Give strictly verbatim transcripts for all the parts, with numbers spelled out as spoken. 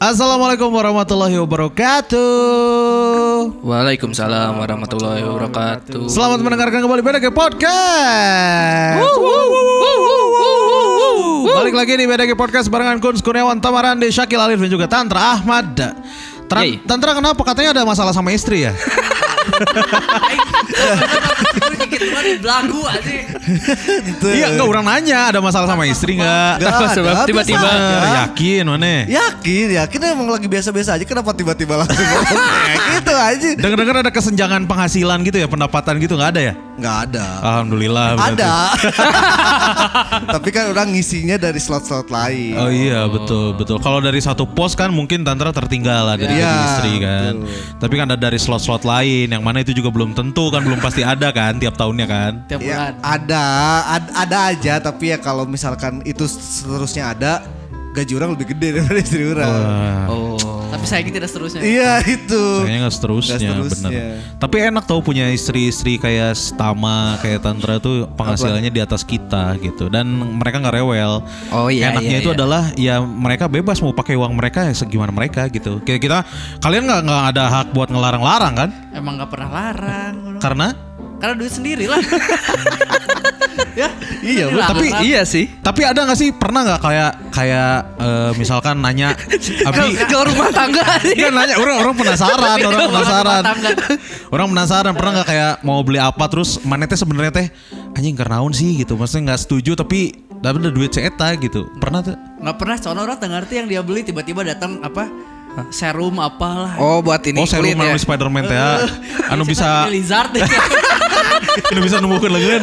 Assalamualaikum warahmatullahi wabarakatuh. Waalaikumsalam warahmatullahi wabarakatuh. Selamat mendengarkan kembali B D G Podcast. Balik lagi di B D G Podcast barengan Kun Kurniawan, Tamarandi, Syakil Alif dan juga Tantra Ahmad. Tra- Yey. Tantra kenapa? Katanya ada masalah sama istri ya? Belagu aja. Iya, enggak orang nanya ada masalah sama istri enggak? Apa sebab tiba-tiba Yakin mana? Yakin, yakin emang lagi biasa-biasa aja. Kenapa tiba-tiba langsung ngomong kayak gitu aja? Dengar-dengar ada kesenjangan penghasilan gitu ya, pendapatan gitu nggak ada ya? Nggak ada. Alhamdulillah. Berarti. Ada. Tapi kan orang ngisinya dari slot-slot lain. Oh iya betul betul. Kalau dari satu pos kan mungkin Tantra tertinggal lah dari Ya, gaji istri kan. betul. Tapi kan ada dari slot-slot lain yang mana itu juga belum tentu kan, belum pasti ada kan tiap tahunnya kan. Tiap Ya, bulan. ada, ad- ada aja. Tapi ya kalau misalkan itu seterusnya ada, gaji orang lebih gede daripada istri orang. Wah. Oh. Tapi saya tidak seterusnya. Iya itu. Kayaknya nggak seterusnya, Nggak seterusnya. bener. Tapi enak tau punya istri-istri kayak Tama, kayak Tantra tuh penghasilannya di atas kita gitu. Dan mereka nggak rewel. Oh iya, Enaknya iya, itu iya. adalah ya mereka bebas mau pakai uang mereka ya segimana mereka gitu. Kayak kita, kalian nggak nggak ada hak buat ngelarang-larang kan? Emang gak pernah larang. Karena Karena duit sendiri lah. Ya, Iya, dilarang. tapi Iya sih. Tapi ada nggak sih pernah nggak kayak kayak eh, misalkan nanya, Abi, Ke, ke rumah tangga nih. kan nanya orang orang penasaran, orang penasaran, Rumah tangga. orang penasaran pernah nggak kayak mau beli apa terus mana teh sebenarnya teh anjing kernaun sih gitu, maksudnya nggak setuju tapi dapat duit ceeta gitu, pernah tuh? Nggak pernah, soalnya orang tak ngerti yang dia beli tiba-tiba datang apa serum apalah. Oh buat ini Oh serum kulit ya. ya? Spiderman teh ya, anu bisa Lizard. anu bisa numbuhkeun leungeun.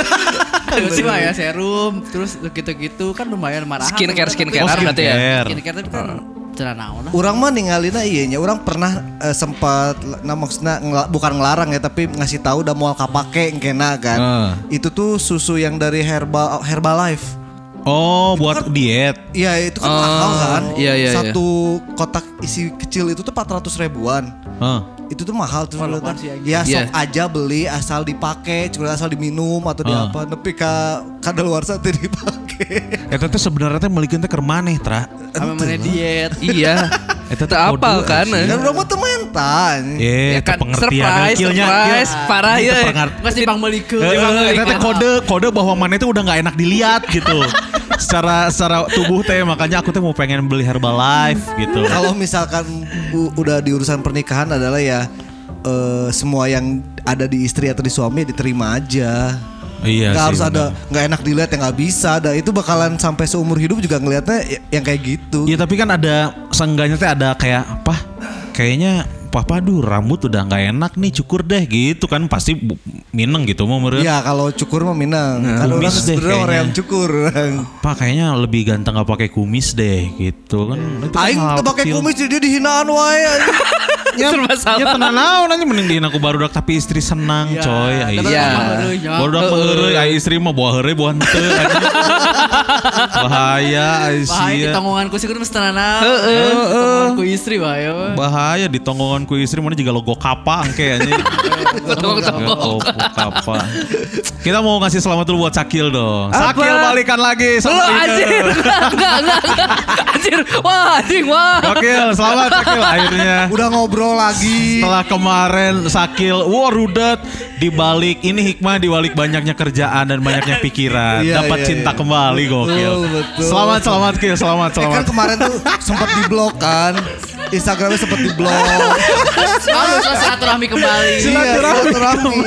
Terus sih mah ya serum, terus gitu-gitu kan lumayan marah. Skincare skincare Oh, berarti ya. skincare. Skincare tapi kan cara naon lah. Orang mah ninggalina iya nya. Orang pernah eh, sempat, nah maksudnya ngela- bukan ngelarang ya, tapi ngasih tahu udah mau kapake engkena kan. Ah. Itu tuh susu yang dari Herbal Herbalife. Oh buat diet. Iya itu kan Oh, mahal kan. iya, iya, Satu kotak isi kecil itu tuh empat ratus ribuan. Hah. Itu tuh mahal tuh. Oh, dulu lupa kan. sih, Ya Iya. sok aja beli asal dipakai, cuma asal diminum atau di Ah. apa. Tapi ka kadaluarsa teh dipakai. Eta teh sebenarnya teh melikeun teh keur maneh tra. Sama mana diet. Iya. Eta teh Tak apal kode, kan. anjing. Dan orang mah tuh mental. Eh, Ya eta kan pengertian surprise, kilnya, surprise, kill. parah Itu ya. pengar- Nggak sih bang melikeun. Eh, Emang eta teh gitu. kode kode bahwa mana itu udah nggak enak dilihat gitu. secara secara tubuh teh, makanya aku teh mau pengen beli Herbalife gitu. Kalau misalkan u- udah di urusan pernikahan adalah ya eh, semua yang ada di istri atau di suami diterima aja. Iya Nggak sih, harus ada, benar. nggak enak dilihat yang nggak bisa. Ada itu bakalan sampai seumur hidup juga ngelihatnya y- yang kayak gitu. Iya tapi kan ada seenggaknya teh ada kayak apa? Kayaknya papa aduh rambut udah nggak enak nih, cukur deh gitu kan, pasti bu- mineng gitu mau meren. Iya kalau cukur mah minang. Kan orang kumis deh sebenarnya orang kayaknya. yang cukur. Pak kayaknya lebih ganteng gak pakai kumis deh gitu kan. Itu kan Aing hal tuh pakai kecil. kumis jadi dia dihinaan wae. Ya, Serba salah. ya tenang naon aja mending dihin aku barudak tapi istri senang Ya, coy. tapi Iya. emang heureuy, nya. Barudak mah heureuy, ai istri mah bawa heureuy bawa henteu. Bahaya ai Bahaya di sia. tonggonganku sih kudu mesti tenang. Tonggonganku istri bahaya. weh. Bahaya di tonggonganku istri mana juga logo kapa angke anjing. Logo kapa. Kita mau ngasih selamat dulu buat Sakil dong. Apa? Sakil balikan lagi sama Lu Rina. anjir. Enggak, enggak, enggak. Anjir. Wah, anjing wah. Sakil, selamat Sakil akhirnya. Udah ngobrol lagi. Setelah kemarin Sakil, wah rudet dibalik ini hikmah dibalik banyaknya kerjaan dan banyaknya pikiran, Iya, dapat iya, cinta iya. kembali gokil. Betul, betul. Selamat selamat Kil, selamat Eh selamat. kan kemarin tuh sempat diblok kan. Instagramnya sempat diblok. Lalu selesai silaturahmi kembali. Iya, silaturahmi.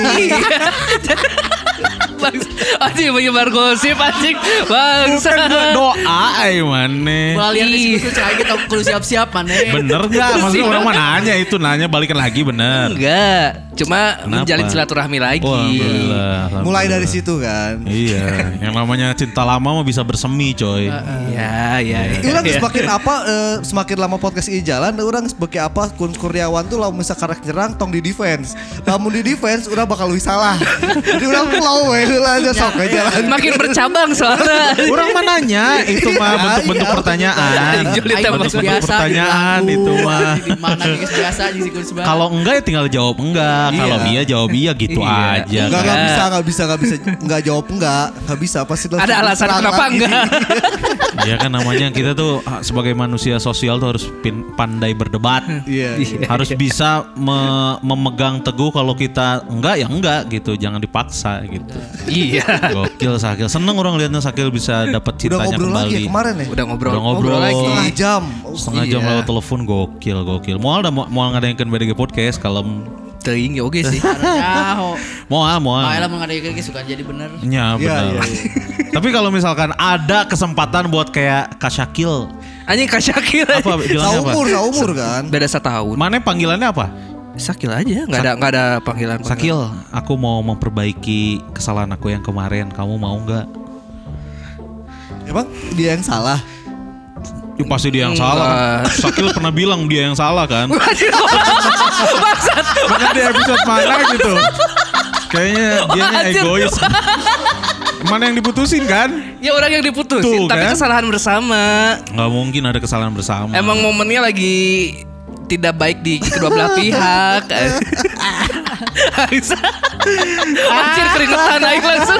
Bang, anjing menyebar gosip anjing. Bangsa. Bukan gua doa ay maneh. Mulai lihat Ih. diskusi cai kita kudu siap-siap mana. Bener nggak? Maksudnya orang mana nanya itu nanya balikan lagi bener. Enggak, cuma Kenapa? menjalin silaturahmi lagi. Oh, alhamdulillah, alhamdulillah. Mulai dari situ kan. Iya, yang namanya cinta lama mah bisa bersemi coy. Ya, ya, ya. Orang semakin apa eh, semakin lama podcast ini jalan, orang sebagai apa Kun Kurniawan tuh lamun misalkan nyerang tong di defense. Lamun di defense udah bakal lebih salah. Jadi orang flow we. heula aja sok aja jalan. Makin bercabang soalnya. Orang mananya itu mah bentuk-bentuk iya. pertanyaan. Juli Aing tembak. geus Bentuk biasa pertanyaan dilaku, itu mah. Di mana geus biasa anjing si Kusba. Kalau enggak ya tinggal jawab enggak. Kalau Iya. iya jawab iya gitu Iya. aja. Enggak, kan. enggak bisa, enggak bisa, enggak bisa, enggak jawab enggak, enggak bisa pasti lo Ada alasan serang kenapa lagi. enggak? Ya kan namanya kita tuh ah, sebagai manusia sosial tuh harus pin- pandai berdebat. Iya. Harus bisa me- memegang teguh kalau kita enggak ya enggak gitu, jangan dipaksa gitu. Iya. Gokil Sakil, seneng orang liatnya Sakil bisa dapat Udah cintanya ngobrol kembali. lagi ya kemarin ya? Udah ngobrol, Udah ngobrol. Setengah jam. Oh, Setengah jam Iya. lewat telepon gokil gokil. Moal dah mau ngadainkeun B D G podcast kalem. Teuing ya oge sih. Nyaho. Moal moal. Bae lah mengadakan ge suka jadi bener. Ya Iya, benar. iya, Tapi kalau misalkan ada kesempatan buat kayak Kak Syakil, Anjing Kak Syakil. apa bilangnya apa? Saumur, saumur kan. Beda setahun. Mana panggilannya apa? Sakil aja, nggak ada nggak ada panggilan. Sakil, aku mau memperbaiki kesalahan aku yang kemarin. Kamu mau nggak? Emang dia yang salah. Ya, pasti dia yang Enggak. salah. Sakil pernah bilang dia yang salah kan? Bangsat. Makanya di episode mana gitu. Kayaknya dia Anjir. egois. Mana yang diputusin kan? Ya orang yang diputusin, Tuh, tapi kan? kesalahan bersama. Nggak mungkin ada kesalahan bersama. Emang momennya lagi tidak baik di kedua belah pihak. Anjir keringetan naik langsung.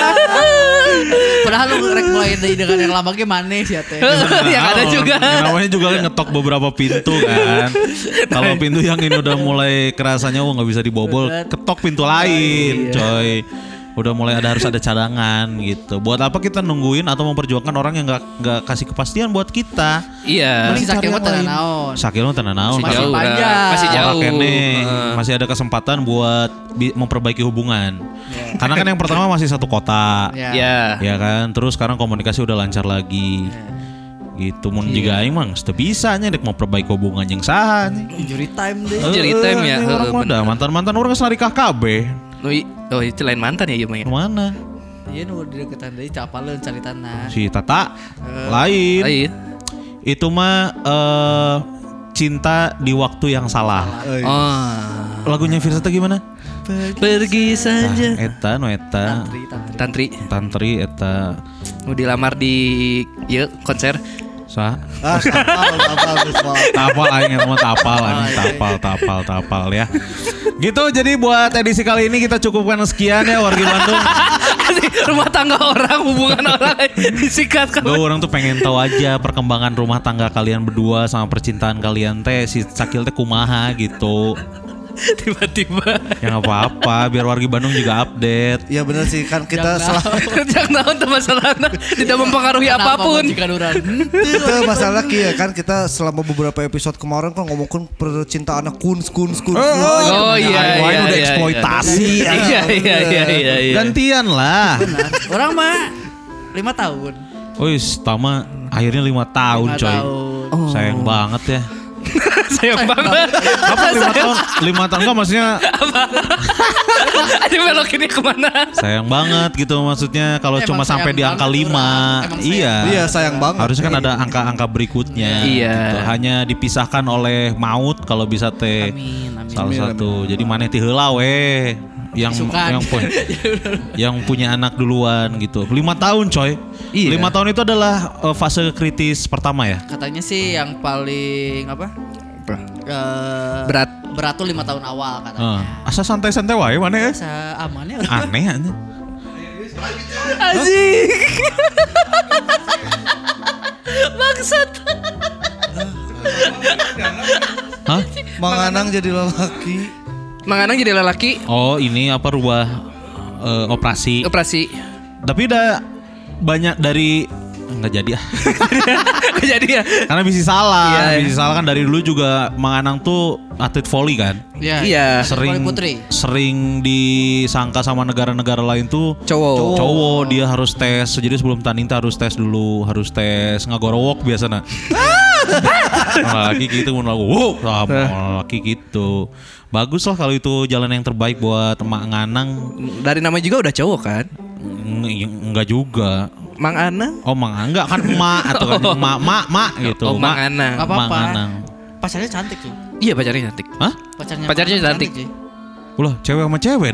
Padahal lu rek mulai dari dengan yang lama ge maneh sia teh. Yang ada Nah, juga. yang namanya juga kan ngetok beberapa pintu kan. Kalau pintu yang ini udah mulai kerasanya oh nggak bisa dibobol, ketok pintu lain, coy. Udah mulai ada harus ada cadangan gitu. Buat apa kita nungguin atau memperjuangkan orang yang nggak nggak kasih kepastian buat kita? Iya. Masih sakit mah Cari yang tenan lain. naon. Sakit mah tenan naon. Masih jauh, panjang. dah. Masih jauh. Orang kene Heeh. masih ada kesempatan buat bi- memperbaiki hubungan. Karena kan yang pertama masih satu kota. Ya. Ya. Ya kan, terus sekarang komunikasi udah lancar lagi. Gitu mun juga aing mah teu bisa nya dek mau perbaiki hubungan jeung saha nya. Injury time deh. Injury time ya, Ini orang heeh, mah bener. dah mantan-mantan orang geus narikah kabeh. Oh, i- oh itu lain mantan ya iya mah ya. Mana? Iya nu di deketan deui capaleun caritana. Si Tata lain. Lain. Itu mah eh, cinta di waktu yang salah. Eh, Oh. Lagunya Firsa teh gimana? Pergi saja. Eta no eta. Tantri, tantri. Tantri Tantri eta mau dilamar di ya konser. sa Ah, tapal, tapal, tapal. tapal aing eta mah tapal anjing tapal tapal tapal ya. Gitu jadi buat edisi kali ini kita cukupkan sekian ya wargi Bandung. Rumah tangga orang, hubungan orang disikat ke Gue orang tuh pengen tahu aja perkembangan rumah tangga kalian berdua sama percintaan kalian teh si Sakil teh kumaha gitu. tiba-tiba. Ya nggak apa-apa biar wargi Bandung juga update. Iya benar sih kan kita Jangan selama Jangan tahu tuh masalahnya tidak mempengaruhi apapun. Jika orang. kita masalah kia kan kita selama beberapa episode kemarin kan ngomongin percintaan kuns kuns kuns. Oh iya Wah, iya. ini udah iya, eksploitasi. Iya iya iya iya iya. iya. Gantian lah. Orang mah lima tahun. Wis, tama akhirnya lima tahun Lima coy. tahun. Sayang banget ya. Sayang banget. Apa lima tahun? Lima tahun enggak maksudnya Ada belok ini kemana? sayang banget gitu maksudnya kalau Emang cuma sampai sayang di angka banget lima. orang. Emang sayang Iya. Iya sayang banget. Harusnya kan ada angka-angka berikutnya. Iya. gitu. Hanya dipisahkan oleh maut kalau bisa teh. Amin, amin. Salah Amin, satu. Jadi maneh ti heula we yang Isukan. yang punya yang punya anak duluan gitu. Lima tahun coy. Iya. Lima tahun itu adalah uh, fase kritis pertama ya. Katanya sih yang paling apa? Eh, Berat. Berat tuh lima tahun awal katanya. Uh, asa santai-santai wae maneh ya. Bisa aman ya. Aneh aneh. Anjing. Bangsat. Hah? Manganang jadi lelaki. Mang Anang jadi lelaki Oh ini apa rubah uh, operasi. operasi. Tapi udah banyak dari nggak jadi ah. Gak jadi ya. Karena bisa salah, Iya, iya. bisa salah kan dari dulu juga Mang Anang tuh atlet volley kan. Iya. Iya. Sering Putri. sering disangka sama negara-negara lain tuh Cowok. cowok dia harus tes. Jadi sebelum tanding tuh harus tes dulu, harus tes ngagorowok biasanya. Laki gitu mun lagu. Wow, sama laki gitu. Bagus lah kalau itu jalan yang terbaik buat Mak Nganang. Dari namanya juga udah cowok kan? Eng- Enggak juga. Mang Anang. Oh Mang enggak kan emak atau kan emak mak mak gitu. Oh, Mang Mak- Anang. Gak apa-apa. Mang Anang. Pacarnya cantik sih. Iya pacarnya cantik. Hah? Pacarnya Pacarnya Mang cantik. sih. Ulah cewek sama cewek dong.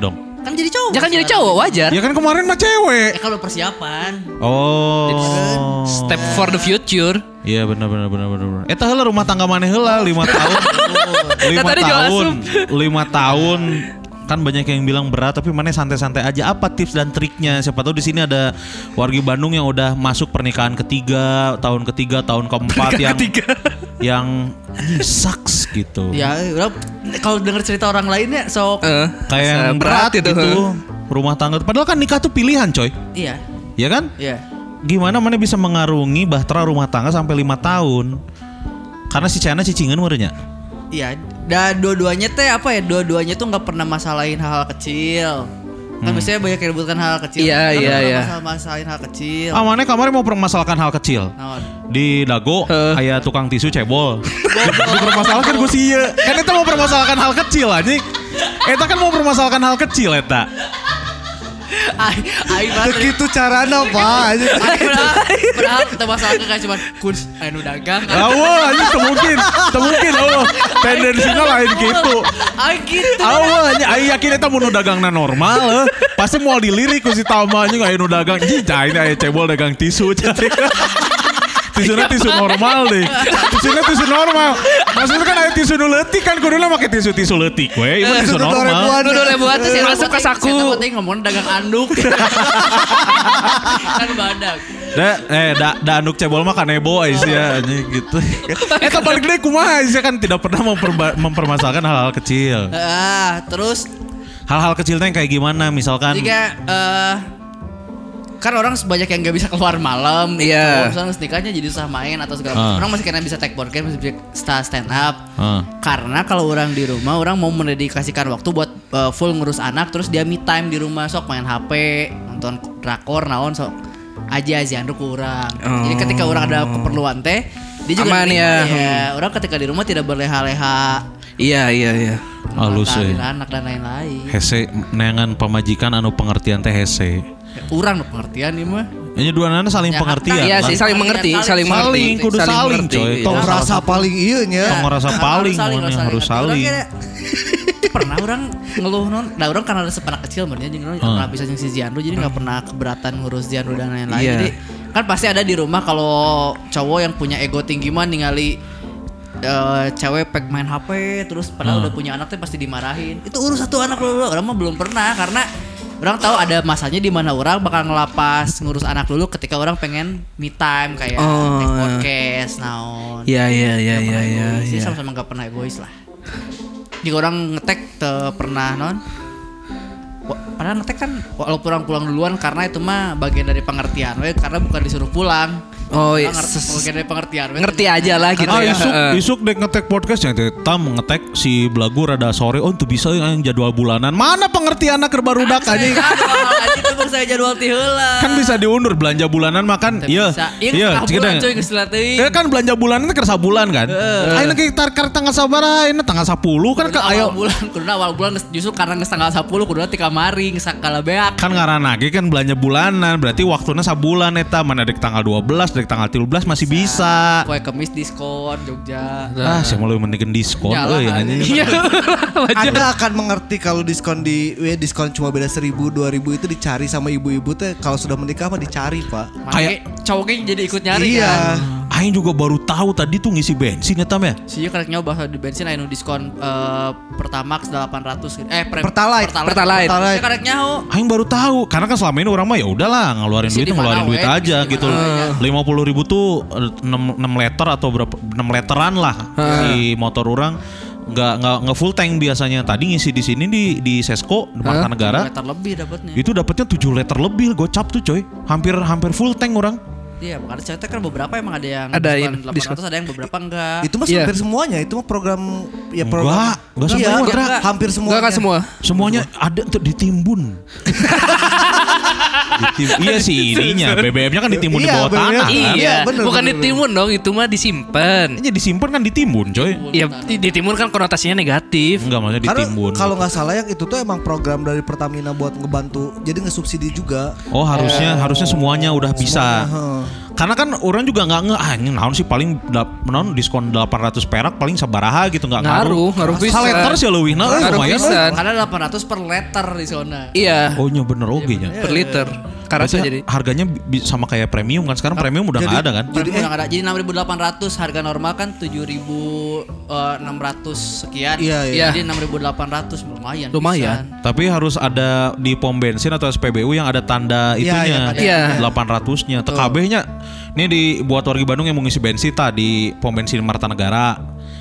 Kan jadi cowok. Jangan jadi cowok wajar. Ya kan kemarin mah Ya cewek. kalau persiapan. Oh. Step for the future. Iya benar benar benar benar. Eta heula rumah tangga maneh heula lima tahun. lima Tadi jual tahun. lima tahun. Kan banyak yang bilang berat tapi maneh santai-santai aja. Apa tips dan triknya? Siapa tahu di sini ada wargi Bandung yang udah masuk pernikahan ketiga, tahun ketiga, tahun keempat yang Ketiga. yang anjing sucks gitu. Ya udah kalau denger cerita orang lainnya sok Eh, Kayak yang berat berat itu. gitu. Rumah tangga. Padahal kan nikah tuh pilihan, coy. iya. Ya kan? Iya. Gimana mana bisa mengarungi bahtera rumah tangga sampai lima tahun? Karena si China cicingan meureunnya. Iya, dan dua-duanya teh apa ya? Dua-duanya tuh nggak pernah masalahin hal-hal kecil. Kan biasanya banyak yang ributkan hal kecil. Iya, Kan iya, nggak iya. masalah- masalahin hal kecil. Ah, mana kemarin mau permasalahkan hal kecil. Naon? Di Dago Heh. aya tukang tisu cebol. Dipermasalahkan gue sih ya. Kan eta mau permasalahkan hal kecil anjing. Eta kan mau permasalahkan hal kecil eta. Ai, ai banget. Begitu carana Pak. Padahal kita masalah kayak cuman kuns anu dagang. Awah anjing teu mungkin. Teu mungkin awah. Tendensinya lain gitu. Ai gitu. Awah anjing ai yakin eta mun nu dagangna normal. eh. Pasti moal dilirik ku si Tama anjing aya nu dagang. Anjing cai aya cebol dagang tisu. Tisunya tisu normal deh. Tisunya tisu normal. Maksudnya kan ada tisu nu leutik kan kuduna make tisu-tisu leutik we. Ieu tisu normal. Dulu lebuat tuh sih masuk ke saku. Saya penting ngomong dagang anduk. Kan badak. Da eh da, da anduk cebol mah kanebo Aisyah anjing gitu. Eta balik deui kumaha Aisyah kan tidak pernah memperba- mempermasalahkan hal-hal kecil. Ah, terus Hal-hal kecilnya yang kayak gimana misalkan jika eh kan orang banyak yang gak bisa keluar malam. Iya. Kalau misalnya nikahnya jadi susah main atau segala Ah. macam. Orang masih kena bisa take board game, masih bisa stand up. Ah. Karena kalau orang di rumah, orang mau mendedikasikan waktu buat uh, full ngurus anak, terus dia me time di rumah, sok main H P, nonton drakor, naon sok aja aja ku orang. Jadi ketika orang ada keperluan teh, dia juga Aman nerima, ya. ya. Orang ketika di rumah tidak berleha-leha, Iya, iya, iya. halus ngatarin eh. anak dan lain-lain. Hese neangan pamajikan anu pengertian teh hese. Ya, orang no pengertian ini mah. Ini dua nana saling Ya, pengertian. Iya lah. sih, saling mengerti, saling mengerti. Saling, kudu saling, mengerti, coy. iya. Tong Tong rasa paling iya nya. Tong ngerasa Nah, paling, harus mana harus Orang saling. kayak- pernah orang ngeluh non, nah orang karena ada sepanak kecil berarti jadi orang Hmm. pernah bisa jeung si Jianru jadi nggak pernah keberatan ngurus Jianru dan lain-lain. Iya. Jadi kan pasti ada di rumah kalau cowok yang punya ego tinggi mah ningali eh, cewek pek main H P terus padahal Hmm. udah punya anak tuh pasti dimarahin. Itu urus satu anak dulu. Orang mah belum pernah karena orang tahu ada masanya di mana orang bakal ngelapas ngurus anak dulu ketika orang pengen me time kayak Oh, take iya. podcast naon. Iya, iya, iya, Nggak iya, pernah iya. egois. Jadi iya. sama-sama gak pernah egois lah. Jika orang ngetek te pernah non. Wa- Padahal ngetek kan walaupun orang pulang duluan karena itu mah bagian dari pengertian we karena bukan disuruh pulang. Oh, Orang iya. ngerti- bagian dari pengertian we. Ngerti aja lah gitu Ah ya. isuk, Heeh. isuk dek ngetek podcast yang tam ngetek si Belagu rada sore. Oh itu bisa yang jadwal bulanan. Mana pengertian anak barudak Saya anjing. jadwal aja itu bang saya jadwal ti heula. Kan bisa diundur belanja bulanan makan. Teu Iya. bisa. Iya Iya, setengah cik bulan deng. coy geus dilat teuing. Ya kan belanja bulanan itu kerasa bulan kan. Ayeuna ke tar tar tanggal sabaraha? Ayeuna tanggal sepuluh kan ke Kuduna ayo. awal bulan, kuduna awal bulan geus- justru karena geus tanggal sepuluh kuduna ti kamari geus kalabeak. Kan ngaranna ge kan belanja bulanan berarti waktunya sabulan eta mana dek tanggal dua belas dek tanggal tiga belas masih bisa. Kue kemis diskon Jogja. Ah, saya mau mendingan diskon Nyalah, euy anjing. anjing. Iya. Anda akan mengerti kalau diskon di we diskon cuma beda seribu dua ribu itu dicari sama ibu-ibu teh kalau sudah menikah mah dicari Pak. Kayak cowoknya jadi ikut nyari Iya. kan. Aing juga baru tahu tadi tuh ngisi bensin ya Tam ya. Sih karek nyoba di bensin anu diskon eh, Pertamax delapan ratus gitu. Eh pre- Pertalite. Pertalite. Saya karek nyaho. Aing baru tahu karena kan selama ini orang mah ya udahlah ngeluarin Isi duit di ngeluarin mana, duit we? aja Isi di gitu. mana, lima puluh ribu tuh enam, enam liter atau berapa enam literan lah di motor orang nggak nggak nggak full tank biasanya. Tadi ngisi di sini di di Sesko di Marta Negara Meter lebih dapatnya. itu dapatnya tujuh liter lebih gocap tuh coy. Hampir hampir full tank orang. Iya, karena cewek kan beberapa emang ada yang Ada diskon yang delapan ratus, ada yang beberapa enggak. Itu mah Iya. hampir semuanya, itu mah program ya program. Enggak, enggak Iya, semua, enggak, Dra. hampir semua. Enggak kan semua. Semuanya ada tuh ditimbun. Ditim- iya sih ininya B B M-nya kan ditimbun di Iya, bawah B B M. tanah kan. Iya, Iya, bener, bukan bener, ditimbun dong, itu mah disimpan. Ini disimpan kan ditimbun coy. Iya, di- ditimbun kan konotasinya negatif. Enggak maksudnya Karena ditimbun. kalau nggak salah yang itu tuh emang program dari Pertamina buat ngebantu, jadi ngesubsidi juga. Oh harusnya harusnya semuanya udah bisa. Heeh. Karena kan orang juga nggak nge, ah ini naon sih paling naon diskon delapan ratus perak paling sabaraha gitu nggak ngaruh. Ngaruh, ngaruh bisa. Saleter sih leuwih nah Ngaruh lumayan. pisan. Karena delapan ratus per liter di zona. Iya, Oh nya bener oge nya. per liter. Karasa Berarti jadi. harganya bi- sama kayak premium kan sekarang premium udah nggak ada kan? Jadi udah nggak ada. Jadi enam ribu delapan ratus, harga normal kan tujuh ribu enam ratus sekian. Iya, iya. Jadi enam ribu delapan ratus lumayan. Lumayan. pisan. Tapi harus ada di pom bensin atau S P B U yang ada tanda Iya, iya, itunya. ada. Iya. delapan ratus-nya. T K B-nya ini dibuat warga Bandung yang mau ngisi bensin tadi pom bensin Marta Negara.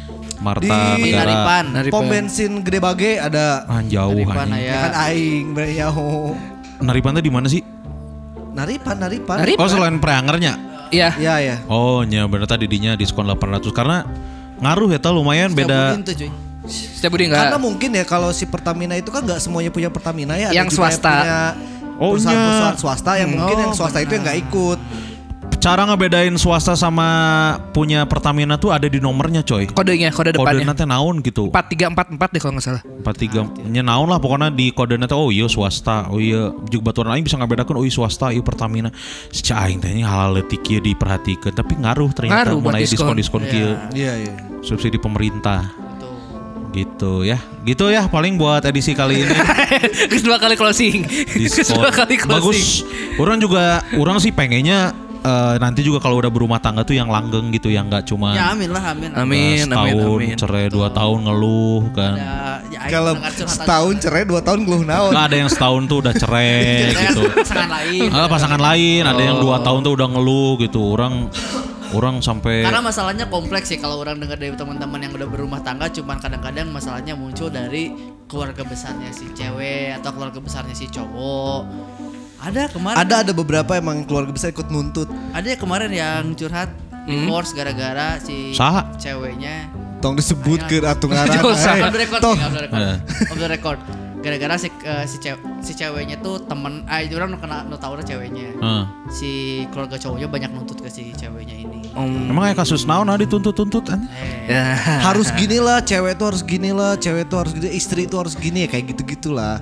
Marta Di Negara. Naripan. Naripan. Pom bensin Gede Bage ada. Ah, jauh Naripan anjing. aya. Ya kan aing beriau. Naripan tuh di mana sih? Naripan, Naripan. Naripan. Oh, selain Preangernya. Iya. Iya, ya. Oh, nya bener tadi dinya diskon delapan ratus karena ngaruh ya tah lumayan beda. Setiap bulan tuh, cuy. Setiap budi Karena enggak. mungkin ya kalau si Pertamina itu kan nggak semuanya punya Pertamina ya. Ada Yang juga swasta. punya Oh, perusahaan-perusahaan nya. swasta yang mungkin yang swasta itu yang nggak ikut. Cara ngebedain swasta sama punya Pertamina tuh ada di nomornya, coy. Kodenya, kode Kode depannya. nanti naon gitu. empat tiga empat empat deh kalau nggak salah. empat tiga nya naon lah pokoknya di kode nanti oh iya swasta oh iya juga baturan aing bisa ngabedakeun oh iya swasta iya Pertamina secara aing teh hal leutik kieu diperhatikeun tapi ngaruh ternyata Ngaruh buat mulai diskon. diskon-diskon kieu Iya, iya. subsidi pemerintah Tuh. gitu ya gitu ya paling buat edisi kali ini Terus dua kali closing. Terus diskon dua kali closing. bagus orang juga orang sih pengennya eh, nanti juga kalau udah berumah tangga tuh yang langgeng gitu yang nggak cuma Ya amin lah, amin. Amin, amin, setahun amin. cerai dua tahun ngeluh kan Ya, ya, aing Kalau mendengar curhatan- setahun cerai dua tahun ngeluh naon. nggak ada yang setahun tuh udah cerai Saya gitu pasangan lain. Ah, pasangan lain, ada yang dua tahun tuh udah ngeluh gitu. Orang orang sampai Karena masalahnya kompleks sih kalau orang dengar dari teman-teman yang udah berumah tangga, cuman kadang-kadang masalahnya muncul dari keluarga besarnya si cewek atau keluarga besarnya si cowok. Ada kemarin. Ada ada beberapa emang keluarga besar ikut nuntut. Ada kemarin yang curhat divorce gara-gara si Saha? ceweknya. Tong disebut ke atu ngaran. Jauh, eh. Off the record, Toh. nih, off the record. Eh. Off the record. Gara-gara si eh, si, cew- si ceweknya tuh temen, ah itu orang nu kena nu tahu ceweknya. Heeh. Si keluarga cowoknya banyak nuntut ke si ceweknya ini. Om. Emang kayak kasus naon ah dituntut-tuntut kan? Eh, Ya. Harus gini lah, cewek tuh harus gini lah, cewek tuh harus gini, istri tuh harus gini ya kayak gitu-gitulah.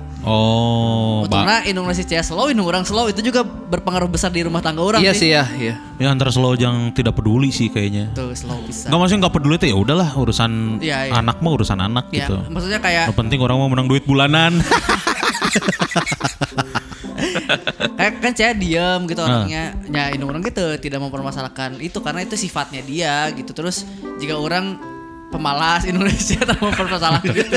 Oh, Pak. Untungnya Indonesia cewek slow, ini orang slow itu juga berpengaruh besar di rumah tangga orang. Iya nih. sih ya, iya. Ya antara slow yang tidak peduli sih kayaknya. Tuh slow bisa. Enggak maksudnya enggak peduli tuh ya udahlah urusan Iya, iya. anak mah urusan anak Ya, gitu. maksudnya kayak Yang penting orang mau menang duit bulanan. kayak kan saya diam gitu Ah. orangnya. Ya ini orang gitu tidak mempermasalahkan itu karena itu sifatnya dia gitu. Terus jika orang pemalas Indonesia tak mempermasalahkan gitu.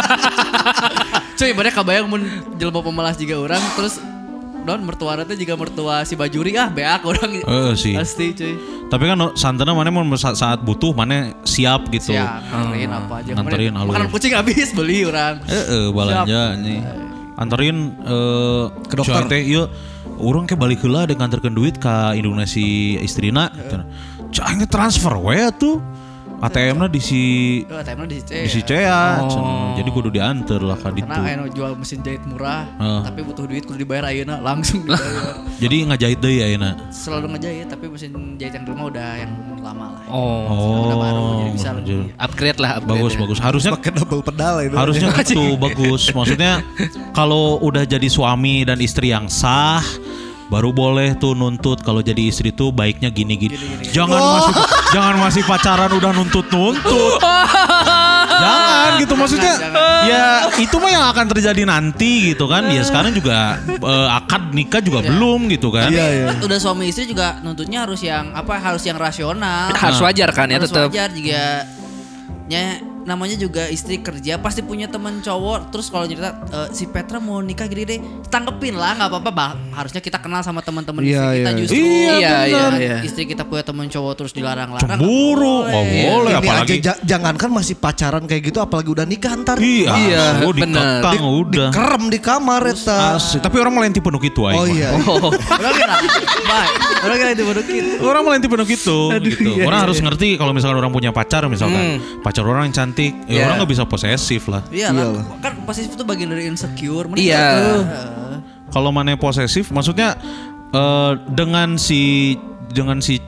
Cuy, ibaratnya kabayang mun jelema pemalas juga orang terus don mertua nanti jika mertua si Bajuri ah beak orang Eh sih. pasti cuy. Tapi kan no, santana mana mau saat, saat butuh mana siap gitu. Siap, nganterin apa aja. nganterin Kemarin alur. makanan kucing habis beli orang. Eh, eh balanja nih. Anterin eh Ke dokter. Teh ieu urang ke balik heula ada nganterkeun duit ka Indonesia istrina. Cang transfer we tuh. A T M-na di si Oh, time di di si Cea. cenah. Jadi kudu dianter lah ka ditu. Karena anu jual mesin jahit murah, Heeh. tapi butuh duit kudu dibayar ayeuna langsung dibayar. Jadi ngajahit deui ayeuna. Selalu ngejahit tapi mesin jahit yang di rumah udah yang lama lah. Oh. Udah baru jadi bisa Oh, lebih. Upgrade lah, upgrade. bagus ya. bagus. Harusnya Pakai double pedal itu. harusnya gitu bagus. Maksudnya kalau udah jadi suami dan istri yang sah baru boleh tuh nuntut kalau jadi istri tuh baiknya gini-gini. Jangan masih jangan masih pacaran udah nuntut-nuntut. Jangan gitu maksudnya. Ya itu mah yang akan terjadi nanti gitu kan. Ya sekarang juga eh, akad nikah juga belum gitu kan. Iya, iya. Udah suami istri juga nuntutnya harus yang apa? Harus yang rasional. Harus wajar kan ya harus tetap. wajar juga. Ya namanya juga istri kerja pasti punya teman cowok terus kalau cerita eh, si Petra mau nikah gini deh tanggepin lah nggak apa-apa bah. Harusnya kita kenal sama teman-teman Iya, istri kita iya. justru Iya, iya, bener. iya. Istri kita punya teman cowok terus dilarang-larang Cemburu, nggak boleh Ini apalagi. aja ja- jangankan masih pacaran kayak gitu apalagi udah nikah ntar. Iya, Iya, oh, bener. dikekang udah. Dikerem di kamar eta. Asik. Tapi orang melenti penuh gitu aing Oh mah. iya. Oh. orang kira baik orang kira itu bodokin Orang melenti penuh gitu, gitu. iya, orang iya, harus iya. ngerti kalau misalkan orang punya pacar misalkan, pacar orang yang cantik, ya Iya. orang nggak bisa posesif lah. iya lah Iyalah. kan posesif itu bagian dari insecure Mending Iya. gitu. Kalau mana posesif, maksudnya eh, dengan si dengan si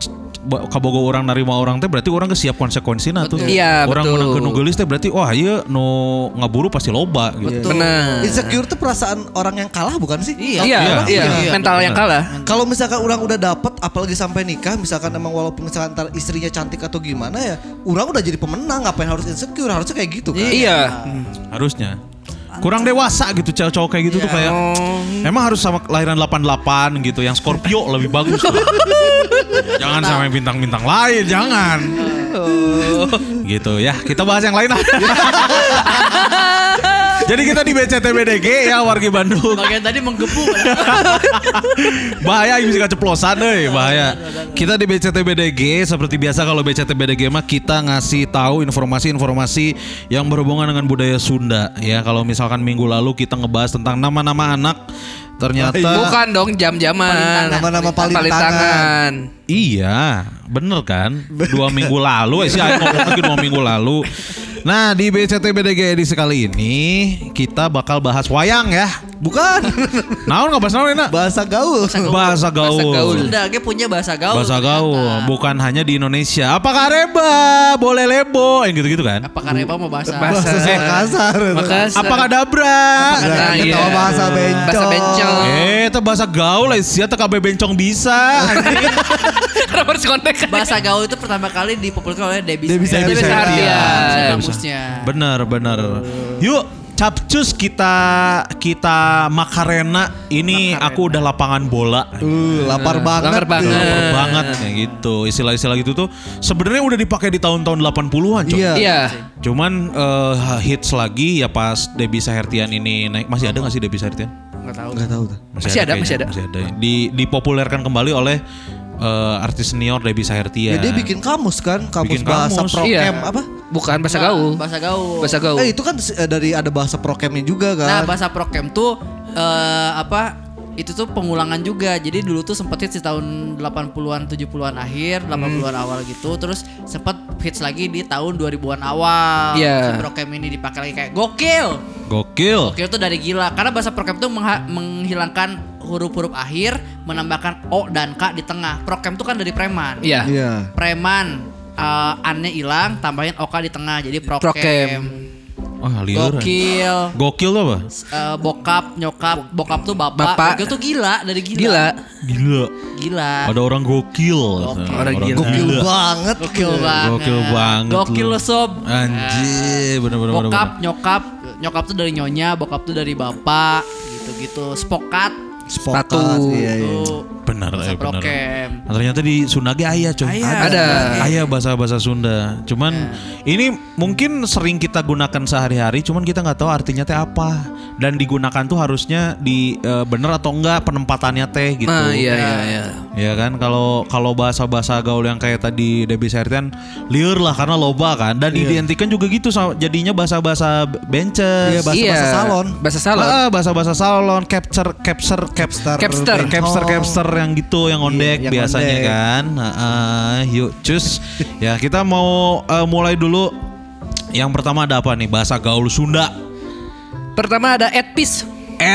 ba- kabogo orang narima orang teh berarti orang kesiap konsekuensina tuh. Iya, Orang betul. menang nu geulis teh berarti wah ieu nu ngaburu pasti loba gitu. Benar. Insecure tuh perasaan orang yang kalah bukan sih? Iya. Iya, Iya, iya, iya, mental yang kalah. Kalau misalkan orang udah dapet, apalagi sampai nikah, misalkan emang walaupun misalkan ntar istrinya cantik atau gimana ya, orang udah jadi pemenang, ngapain harus insecure? Harusnya kayak gitu kan? Iya. Harusnya. Kurang dewasa gitu cowok-cowok kayak gitu tuh kayak emang harus sama kelahiran delapan delapan gitu yang Scorpio lebih bagus lah. Jangan sama yang bintang-bintang lain, jangan. Gitu ya, kita bahas yang lain lah. Jadi kita di B C T B D G ya wargi Bandung. Bagian tadi menggebu. Bahaya bisa keceplosan deh, bahaya. Kita di B C T B D G seperti biasa kalau B C T B D G mah kita ngasih tahu informasi-informasi yang berhubungan dengan budaya Sunda ya. Kalau misalkan minggu lalu kita ngebahas tentang nama-nama anak ternyata Bukan dong jam-jaman. Nama-nama paling Paling tangan. tangan. iya, bener kan? Dua minggu lalu, eh sih ayo ngomong lagi dua minggu lalu. Nah di B C T B D G edisi kali ini kita bakal bahas wayang ya. Bukan. Naon nggak bahas naon enak? Bahasa gaul. Bahasa gaul. Bahasa gaul. Sunda ge punya bahasa gaul. Bahasa gaul, ternyata. bukan hanya di Indonesia. Apakah reba, boleh lebo, yang gitu-gitu kan? Apakah Reba mau bahasa? Bahasa- Bahasa Makassar. Makassar. Apakah dabra? Nah, iya. Ketawa bahasa bencong. Bahasa bencong. Eh, itu bahasa gaul lah, sia teh kabeh bencong bisa. Kenapa harus kontek? Bahasa gaul itu pertama kali dipopulerkan oleh Debbie Debbie Sartian. Debbie Sartian. Sartian. Kamusnya. Bener, bener. Yuk, capcus kita kita makarena ini aku udah lapangan bola. Uh, lapar banget. Lapar banget. Lapar banget kayak gitu. Istilah-istilah gitu tuh sebenarnya udah dipakai di tahun-tahun delapan puluhan, Cok. Iya. Iya. Cuman eh, hits lagi ya pas Debbie Sahertian ini naik. Masih ada gak sih Debbie Sahertian? Enggak tahu. Enggak tahu tuh. Masih ada, kayaknya, masih ada. Masih ada. Di, dipopulerkan kembali oleh eh, artis senior Debbie Sahertian. Ya, dia bikin kamus kan, kamus Bikin bahasa kamus. prokem Iya. apa? Bukan bahasa gaul. Bahasa gaul. Bahasa gaul. Eh itu kan eh, dari ada bahasa prokemnya juga kan. Nah, bahasa prokem tuh eh, apa? Itu tuh pengulangan juga. Jadi dulu tuh sempet hits di tahun delapan puluhan, tujuh puluhan akhir, delapan puluhan awal gitu. Terus sempet hits lagi di tahun dua ribuan awal. Iya. Si prokem ini dipakai lagi kayak gokil. Gokil. Gokil tuh dari gila. Karena bahasa prokem tuh mengha- menghilangkan huruf-huruf akhir, menambahkan O dan K di tengah. Prokem tuh kan dari preman. Iya. Iya. Preman uh, annya hilang, tambahin O K di tengah. Jadi prokem. Prokem. Wah, liur. Gokil. Gokil tuh apa? Uh, bokap, nyokap, bokap tuh bapak. Bapak. Gokil tuh gila, dari gila. Gila. Gila. Gila. Ada orang gokil. Orang gila. Gokil banget. Gokil banget. Gokil banget Gokil lu. lo sob. Anjir, bener-bener. Bokap, nyokap, nyokap tuh dari nyonya, bokap tuh dari bapak, gitu-gitu. Spokat. Spokat. Sepatu. Iya, iya. Tuh. Benar, Bahasa eh, benar. prokem. Nah, ternyata di Sunda ge aya, coy. Aya. Ada. Aya bahasa-bahasa Sunda. Cuman ini mungkin sering kita gunakan sehari-hari, cuman kita nggak tahu artinya teh apa. Dan digunakan tuh harusnya di eh, bener atau enggak penempatannya teh gitu. Nah, iya iya iya. Ya kan kalau kalau bahasa-bahasa gaul yang kayak tadi Debbie Sahertian liur lah karena loba kan dan identikan juga gitu sama- jadinya bahasa-bahasa benches. Iya, bahasa-bahasa Iya. salon. Bahasa salon. Ah, bahasa-bahasa salon, capture, capture, capster, Capster. capster, capster yang gitu, yang ondek Iya, yang biasanya ondek. kan. Heeh, yuk, cus. Ya kita mau eh, mulai dulu. Yang pertama ada apa nih? Bahasa gaul Sunda. Pertama ada Edpis.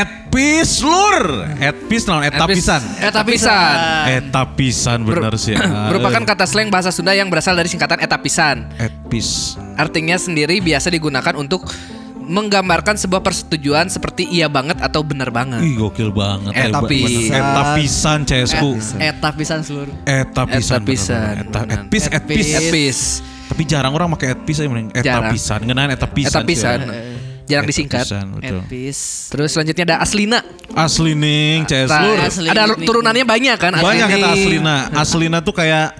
Etpis lur. Etpis naon? Etapisan. Etapisan. Etapisan bener sih. Ah, Merupakan kata slang bahasa Sunda yang berasal dari singkatan etapisan. Etpis. Artinya sendiri biasa digunakan untuk menggambarkan sebuah persetujuan seperti iya banget atau benar banget. Ih gokil banget. Etapisan. Eh, Etapisan C S ku. Eta pisan seluruh. Etapisan. Etapisan. bener-bener. Eta- Bener. Etpis, etpis. Edpis. Tapi jarang orang pakai etpis ya mending Jarang. etapisan. Ngeunaan etapisan. Etapisan. sih. Jarang disingkat. Etapisan, betul. Etpis. Terus selanjutnya ada Aslina. Asli ning C S Nah, lur. Asli ada nih. turunannya banyak kan? Banyak Asli kata nih. Aslina. Aslina tuh kayak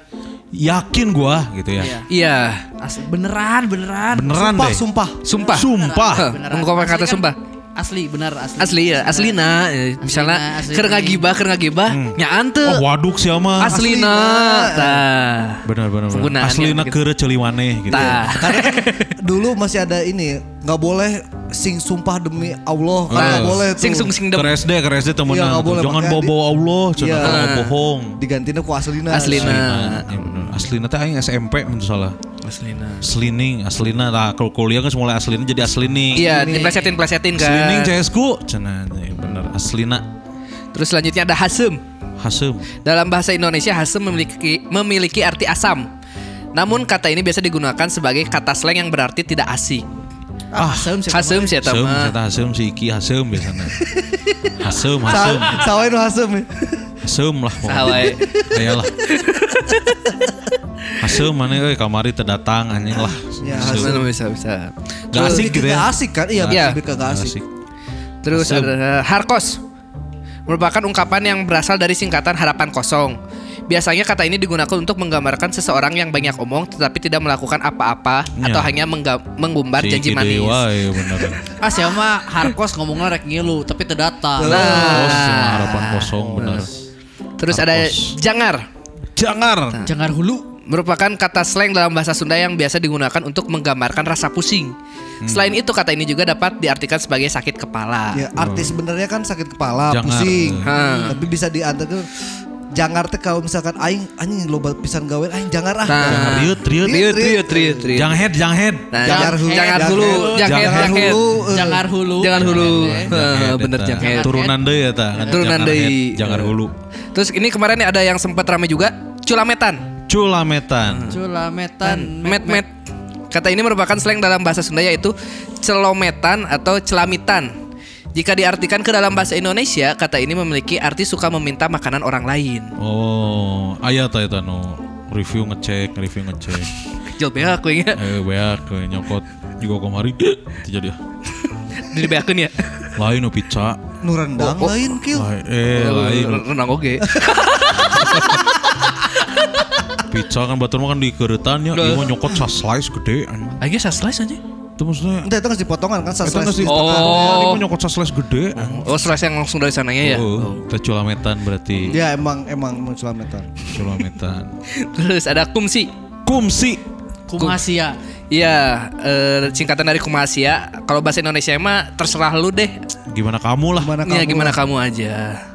yakin gua gitu ya. Iya. Iya. Asli. Beneran, beneran. Beneran Sumpah, deh. sumpah. Sumpah. Sumpah. Hah, Beneran. mengungkapkan Asli kata kan sumpah. Asli, benar asli. Asli ya, Aslina. Eh, Misalnya asli keur nih. ngagibah, keur ngagibah, nyaan teu. Oh waduk sih ama. Aslina. Tah. Benar benar benar. Penggunaannya Aslina gitu. keure celiwaneh gitu. Tah. Karena kan dulu masih ada ini, nggak boleh sing sumpah demi Allah, kan nggak Ah. boleh tuh. Sing sung sing Ke dem. S D, ke S D temenan. Iya, nggak tuh. boleh Jangan pakai bawa-bawa Allah, cenah Iya. kalau bohong. Digantinya ku aslina. Aslina. Ya bener. Aslina teh aing S M P mun salah. Aslina. Aslining, aslina lah kalau kuliah kan mulai aslina jadi aslining. Iya, diplesetin-plesetin kan. Aslining C S ku cenah ya bener aslina. Terus selanjutnya ada Hasem. Hasem. Dalam bahasa Indonesia hasem memiliki memiliki arti asam. Namun kata ini biasa digunakan sebagai kata slang yang berarti tidak asik. Ah, hasem sih. Hasem sih eta Hasem, mah. saya hasem si Iki hasem biasanya. Hasem, hasem, Sawain nu hasem. hasem lah. Sawae. Ayolah. Hasem mana euy kamari teu datang anjing lah. Ya, Hasem. Hasem bisa bisa. Gak asik gitu Gak ya. asik kan? Iya, Iya. lebih ke gak asik. Terus Hasem. ada harkos. Merupakan ungkapan yang berasal dari singkatan harapan kosong. Biasanya kata ini digunakan untuk menggambarkan seseorang yang banyak omong tetapi tidak melakukan apa-apa Ya. atau hanya mengga- mengumbar Si janji Iki manis. dewa ya bener. Ah siapa mah hardcore ngomongnya rek ngilu tapi teu datang. Oh, Nah, si harapan kosong bener. terus ada Harkos. jangar. Jangar. Jangan hulu. Merupakan kata slang dalam bahasa Sunda yang biasa digunakan untuk menggambarkan rasa pusing. Selain itu kata ini juga dapat diartikan sebagai sakit kepala. Ya, artis sebenarnya kan sakit kepala, Jangar. pusing. Hmm. Tapi bisa diantarkan jangar teh kalau misalkan aing anjing loba pisan gawe aing jangar ah. Nah. Jangar riut, riut. Riut, riut, riut, riut. Jang head, jang head. Nah, Jangar jang- hulu. jangan Jangan hulu, hulu. jangan head, Jangan jangan head. hulu. Jangan hulu. Jangan hulu. Jangan Heeh, Head, bener eta. jangan head. Turunan deui eta. kan, Turunan jangar deui. head, Jangar hulu. Terus ini kemarin ada yang sempat rame juga, culametan. Culametan. Culametan. Met met. Kata ini merupakan slang dalam bahasa Sunda yaitu celometan atau celamitan. Jika diartikan ke dalam bahasa Indonesia, kata ini memiliki arti suka meminta makanan orang lain. Oh, aya ta eta nu review ngecek, review ngecek. Kecil beak aku ya. Eh beak we nyokot juga kemarin teu jadi ah. Jadi beakeun ya. Lain nu pizza. Nu rendang Oh, oh. lain kill. Lain, eh lain. Renang oge. Pizza kan batur mah kan di keuretan nya, ieu mah nyokot sa slice gede anjing. Ayo saya slice aja. Itu maksudnya Entah itu ngasih potongan kan Eta slice nasi di Oh. tengah. Ini mah nyokot sa slice gede. Oh slice yang langsung dari sananya ya. Oh, teh culametan berarti. Ya emang emang menculametan. Culametan. Terus ada kumsi. Kumsi. Kumasia. Iya, eh, singkatan dari kumasia. Kalau bahasa Indonesia mah terserah lu deh. Gimana kamu lah. Gimana Ya kamu? gimana kamu aja.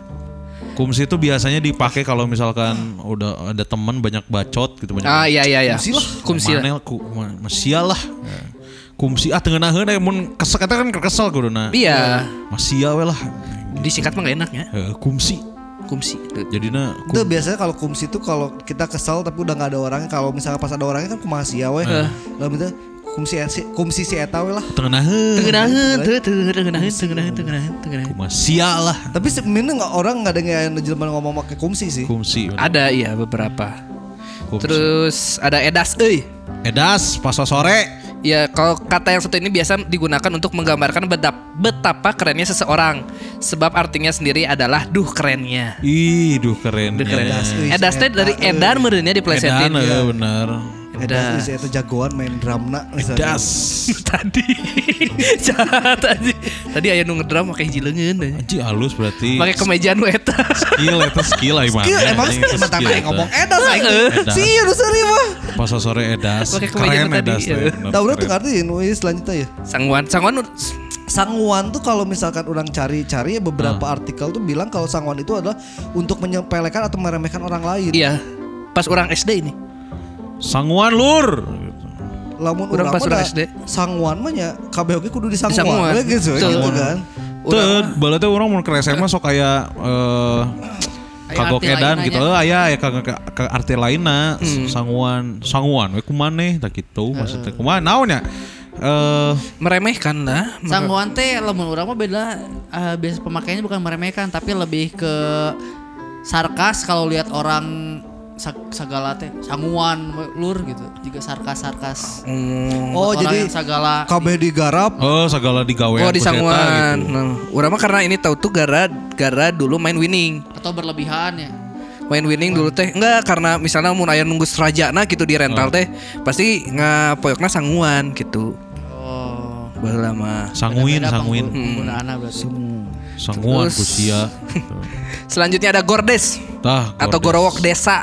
Kumsi itu biasanya dipakai kalau misalkan udah ada teman banyak bacot gitu banyak. Ah iya iya iya. Kumsi lah. Kumsi lah. Manel ku ma- masia lah. Kumsi ah tengeunaheun aya mun kesel kata kan kesel kuduna. Iya. Masia we lah. Disingkat mah gak enak ya. Eh, kumsi. Kumsi. Jadinya Itu biasanya kalau kumsi itu kalau kita kesel tapi udah nggak ada orangnya. Kalau misalnya pas ada orangnya kan kumasia we. Lalu minta kumsi si- kumsi si eta we lah. tengeunaheun. Tengenaheun, tuh tengenaheun, tengenaheun, tengenaheun, tengenaheun. Kumasia lah. Tapi sebenarnya nggak orang nggak ada yang jelema ngomong pakai kumsi sih. Kumsi. bener. Ada iya beberapa. Kumsi. Terus ada edas euy. Edas pas sore. Ya kalau kata yang satu ini biasa digunakan untuk menggambarkan bedap- betapa kerennya seseorang. Sebab artinya sendiri adalah duh kerennya. Ih, duh keren. Duh keren. Edas, euy, Edas teh si dari eta, euy. edan merenya diplesetin. Edan, eh, bener. Edas si eta jagoan main drumna misalnya. Edas. Tadi jahat aja. Tadi aya nu ngedram pakai hiji leungeun. Anjing halus berarti. Pakai kemejaan nu eta. Skill eta skill lah Skill emang skill mah tadi ngomong edas aing. Edas. Si nu seri mah. Pas sore edas. Pakai kemeja Keren tadi, edas. iya. teh, bener, Da urang keren. tuh arti nu ieu selanjutnya ya. Sangguan, sangguan nu- Sangguan tuh kalau misalkan orang cari-cari ya beberapa artikel tuh bilang kalau sangguan itu adalah untuk menyepelekan atau meremehkan orang lain. iya. Pas orang S D ini. Sangguan lur. Lamun Urang urang pas mah urang da S D. Sangguan mah nya kabeh oge kudu Di disangguan. sangguan. We gitu, Betul. gitu kan. Tuh, bala teh orang mun ke S M A sok kayak eh Aya kagok arti edan lainna gitu. nya. Eh aya aya ka, ka, ka arti lainna sanguan. Sanguan we kumaneh tah kitu maksudnya. Kumaha naon nya? Eh Meremehkan lah. Sangguan teh lamun urang mah beda eh, biasa pemakaiannya bukan meremehkan tapi lebih ke sarkas kalau lihat orang sa- sagala teh sangguan lur gitu juga sarkas-sarkas. Hmm. Oh, Orang jadi yang sagala kabeh digarap. oh segala digawean Oh ku di si eta sangguan. gitu. Nah, urang mah karena ini tahu tuh gara gara dulu main winning. atau berlebihan ya. Main winning dulu teh enggak karena misalnya mun aya nunggu serajana gitu di rental teh pasti ngapoyokna sangguan gitu. Oh. Baheula mah. Sanguin, Beda-beda sanguin. penggu- penggunaanna berarti. Sanguan Terus- ku sia. Selanjutnya ada gordes Tah atau gordes. gorowok desa.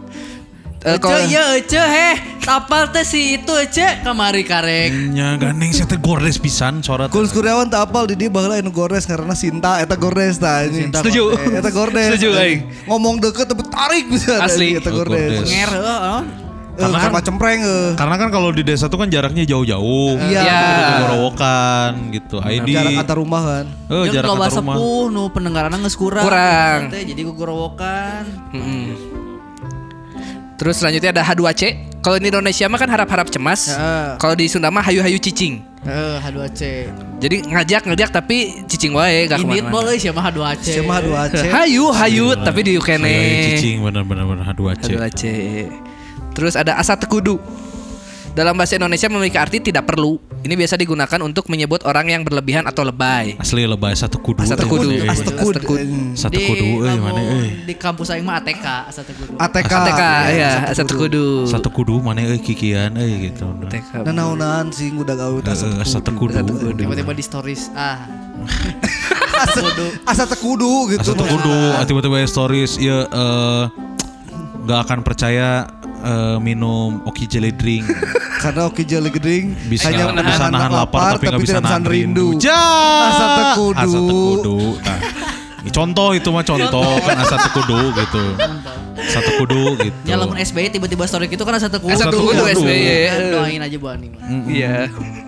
Eh, Ece kalau- iya ece heh tapal teh si itu ece kamari karek. Nya gandeng saya teh gordes pisan sorat. Kuls Kuryawan tak apal di dia baheula anu gordes karena Sinta eta gordes tah anjing. Setuju. Eh, Eta gordes. Setuju, aing. Ngomong deket tapi tarik bisa Asli. eta Oh, gordes. gordes. Nger heuh. oh. Karena kan macam cempreng eh. Karena kan kalau di desa tuh kan jaraknya jauh-jauh. Iya. Kudu gorowokan gitu. I D. Jarak antar rumah kan. Oh, Jeung jarak loba antar rumah. sepuh nu pendengaranna geus kurang. Kurang. Teh, jadi gogorowokan. Mm-mm. Terus selanjutnya ada H dua C. Kalau di Indonesia mah kan harap-harap cemas. Heeh. Kalau di Sunda mah hayu-hayu cicing. Heeh, H dua C. Jadi ngajak-ngajak tapi cicing wae gak Ini kemana-mana. boleh siapa H dua C. Siapa H dua C? Hayu, hayu Iya. tapi di Hayu kene. cicing bener-bener H dua C. H dua C. Terus ada asa tekudu. Dalam bahasa Indonesia memiliki arti tidak perlu. Ini biasa digunakan untuk menyebut orang yang berlebihan atau lebay. Asli lebay satu kudu. Asa tekudu. Eh, As tekud. Satu kudu euy mana euy. Di kampus aing mah A T K, asa tekudu. A T K. A T K ya, asa tekudu. Satu kudu mana euy kikian euy gitu. A T K. Nah naonan sih udah gawe Eh, asa Satu tekudu. kudu. Tiba-tiba di stories. Ah. Asa asa tekudu gitu. Asa kudu tiba-tiba stories ya eh nggak akan percaya eh, minum Oki Jelly Drink. Karena Oki Jelly Drink Bisa hanya bisa nahan lapar tapi nggak bisa nahan rindu. Ja, asa tekudu. Asa tekudu. Nah, ini contoh itu mah contoh kan asa tekudu gitu. Satu kudu gitu. Ya lamun S B Y tiba-tiba story gitu kan asa tekudu. Asa tekudu S B Y. Kan doain aja Bu Ani mah. Iya.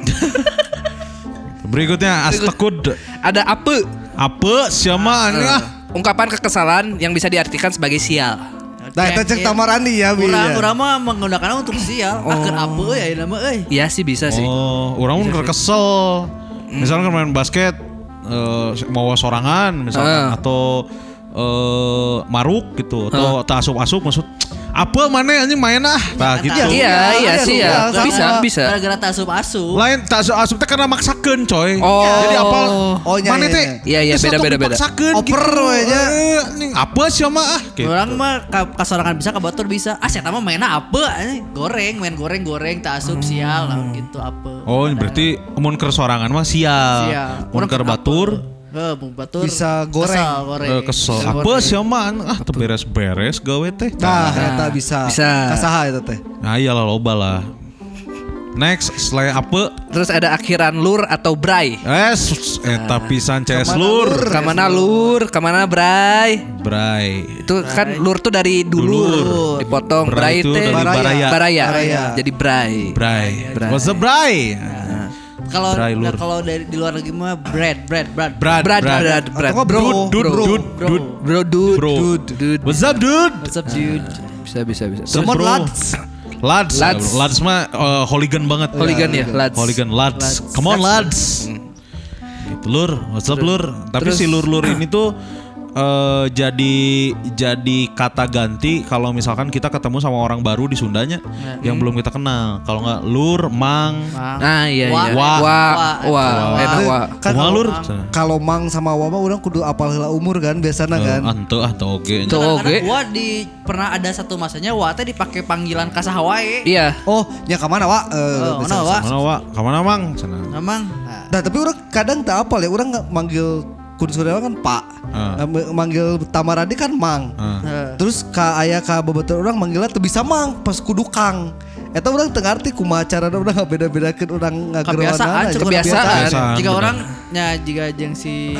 Berikutnya astekud. Ada ape. Apa siapa ini ah? Ungkapan kekesalan yang bisa diartikan sebagai sial. Nah, kita cek tamarandi ya, Bi. Urang urang mah menggunakannya untuk sial. Akeun apa ya ieu mah euy. Iya sih bisa sih. Oh, orang pun kesel. Misalnya kan main basket eh, mau sorangan misalkan Ah. atau eh, maruk gitu atau tak asup-asup maksud apa mana anjing main ah. Tah gitu. Iya, iya, iya sih ya. sama. Bisa, bisa. Gara-gara tak asup-asup. Lain tak asup-asup teh karena maksakeun coy. Oh. Jadi apa? Oh, iya, Mana iya, teh? iya. Iya, iya, geus beda, atuh beda, beda. dipaksakeun Oper we nya. Eh, anjing, apa sih mah ah? Gitu. Orang mah ka- kasorangan bisa, kabatur bisa. Ah, saya mah mainnya apa? anjing. Goreng, main goreng-goreng, tak asup sial lah gitu apa. Oh, berarti mun keur sorangan mah sial. Sial. Mun Orang keur apa? batur Heh, bung batur. Bisa goreng. Kesel, goreng. eh, kesel. Kesel, Apa goreng. sih mah ah teu beres-beres gawe teh. Nah, eta bisa. Bisa. Kasaha eta teh. Nah iyalah loba lah. Next, selain apa? Terus ada akhiran lur atau bray. Eh, sus- eta pisan C S Kamana lur. lur? Kamana lur, kamana bray. Bray. Itu kan lur tuh dari dulur, Dulur. dipotong. Bray Bray itu teh dari baraya. baraya. Baraya. Jadi bray. Bray. Bray. What's the bray? Kalau Bray, nah, lur. kalau dari di luar negeri mah bread, bread, bread. Brad, Brad, Brad. brad, brad. Atau nggak bro? Dude, dude, Bro. dude, Bro. dude. Bro, dude. Bro. Dude, dude. What's up, dude? What's up, dude? Bisa, bisa, bisa. Terus, Come on, bro. lads. Lads. Lads. Lads mah uh, hooligan banget. Hooligan ya, lads. Hooligan lads. Come on, lads. Gitu, lur. What's up, lur? Tapi terus- si lur-lur ini tuh eh, jadi jadi kata ganti kalau misalkan kita ketemu sama orang baru di Sundanya yang belum kita kenal. Kalau nggak lur, mang, Mang. Nah, iya, Wah. iya. Wah. Wah, Wah. wah, Wah. enak wah. Kan kumaha kalau- lur? Kalau mang sama wama orang kudu apal heula umur kan biasana kan. Ante ah teu oge. Tuh. Kadang-kadang Oke. gua di pernah ada satu masanya wa teh dipakai panggilan kasaha wae. Iya. Oh, nya ka mana, Wak? Eh, Oh, bisa- mana, Wak? Mana wa? Ka mana mang? Sana. Memang. Nah, Nah, tapi orang kadang tak apal ya, orang nggak manggil kun saudara kan Pak. Ah. Eh, manggil Tamaradi kan Mang. Ah. eh, Terus ka aya ka bebetul orang manggilnya teu bisa Mang, pas kudu Kang. Eta orang teu ngarti kumaha carana urang ngabeda-bedakeun urang ngageroanana. kebiasaan, ya. cukup Kebiasaan. Kebiasaan, Jika bener. orang nya jika jeung si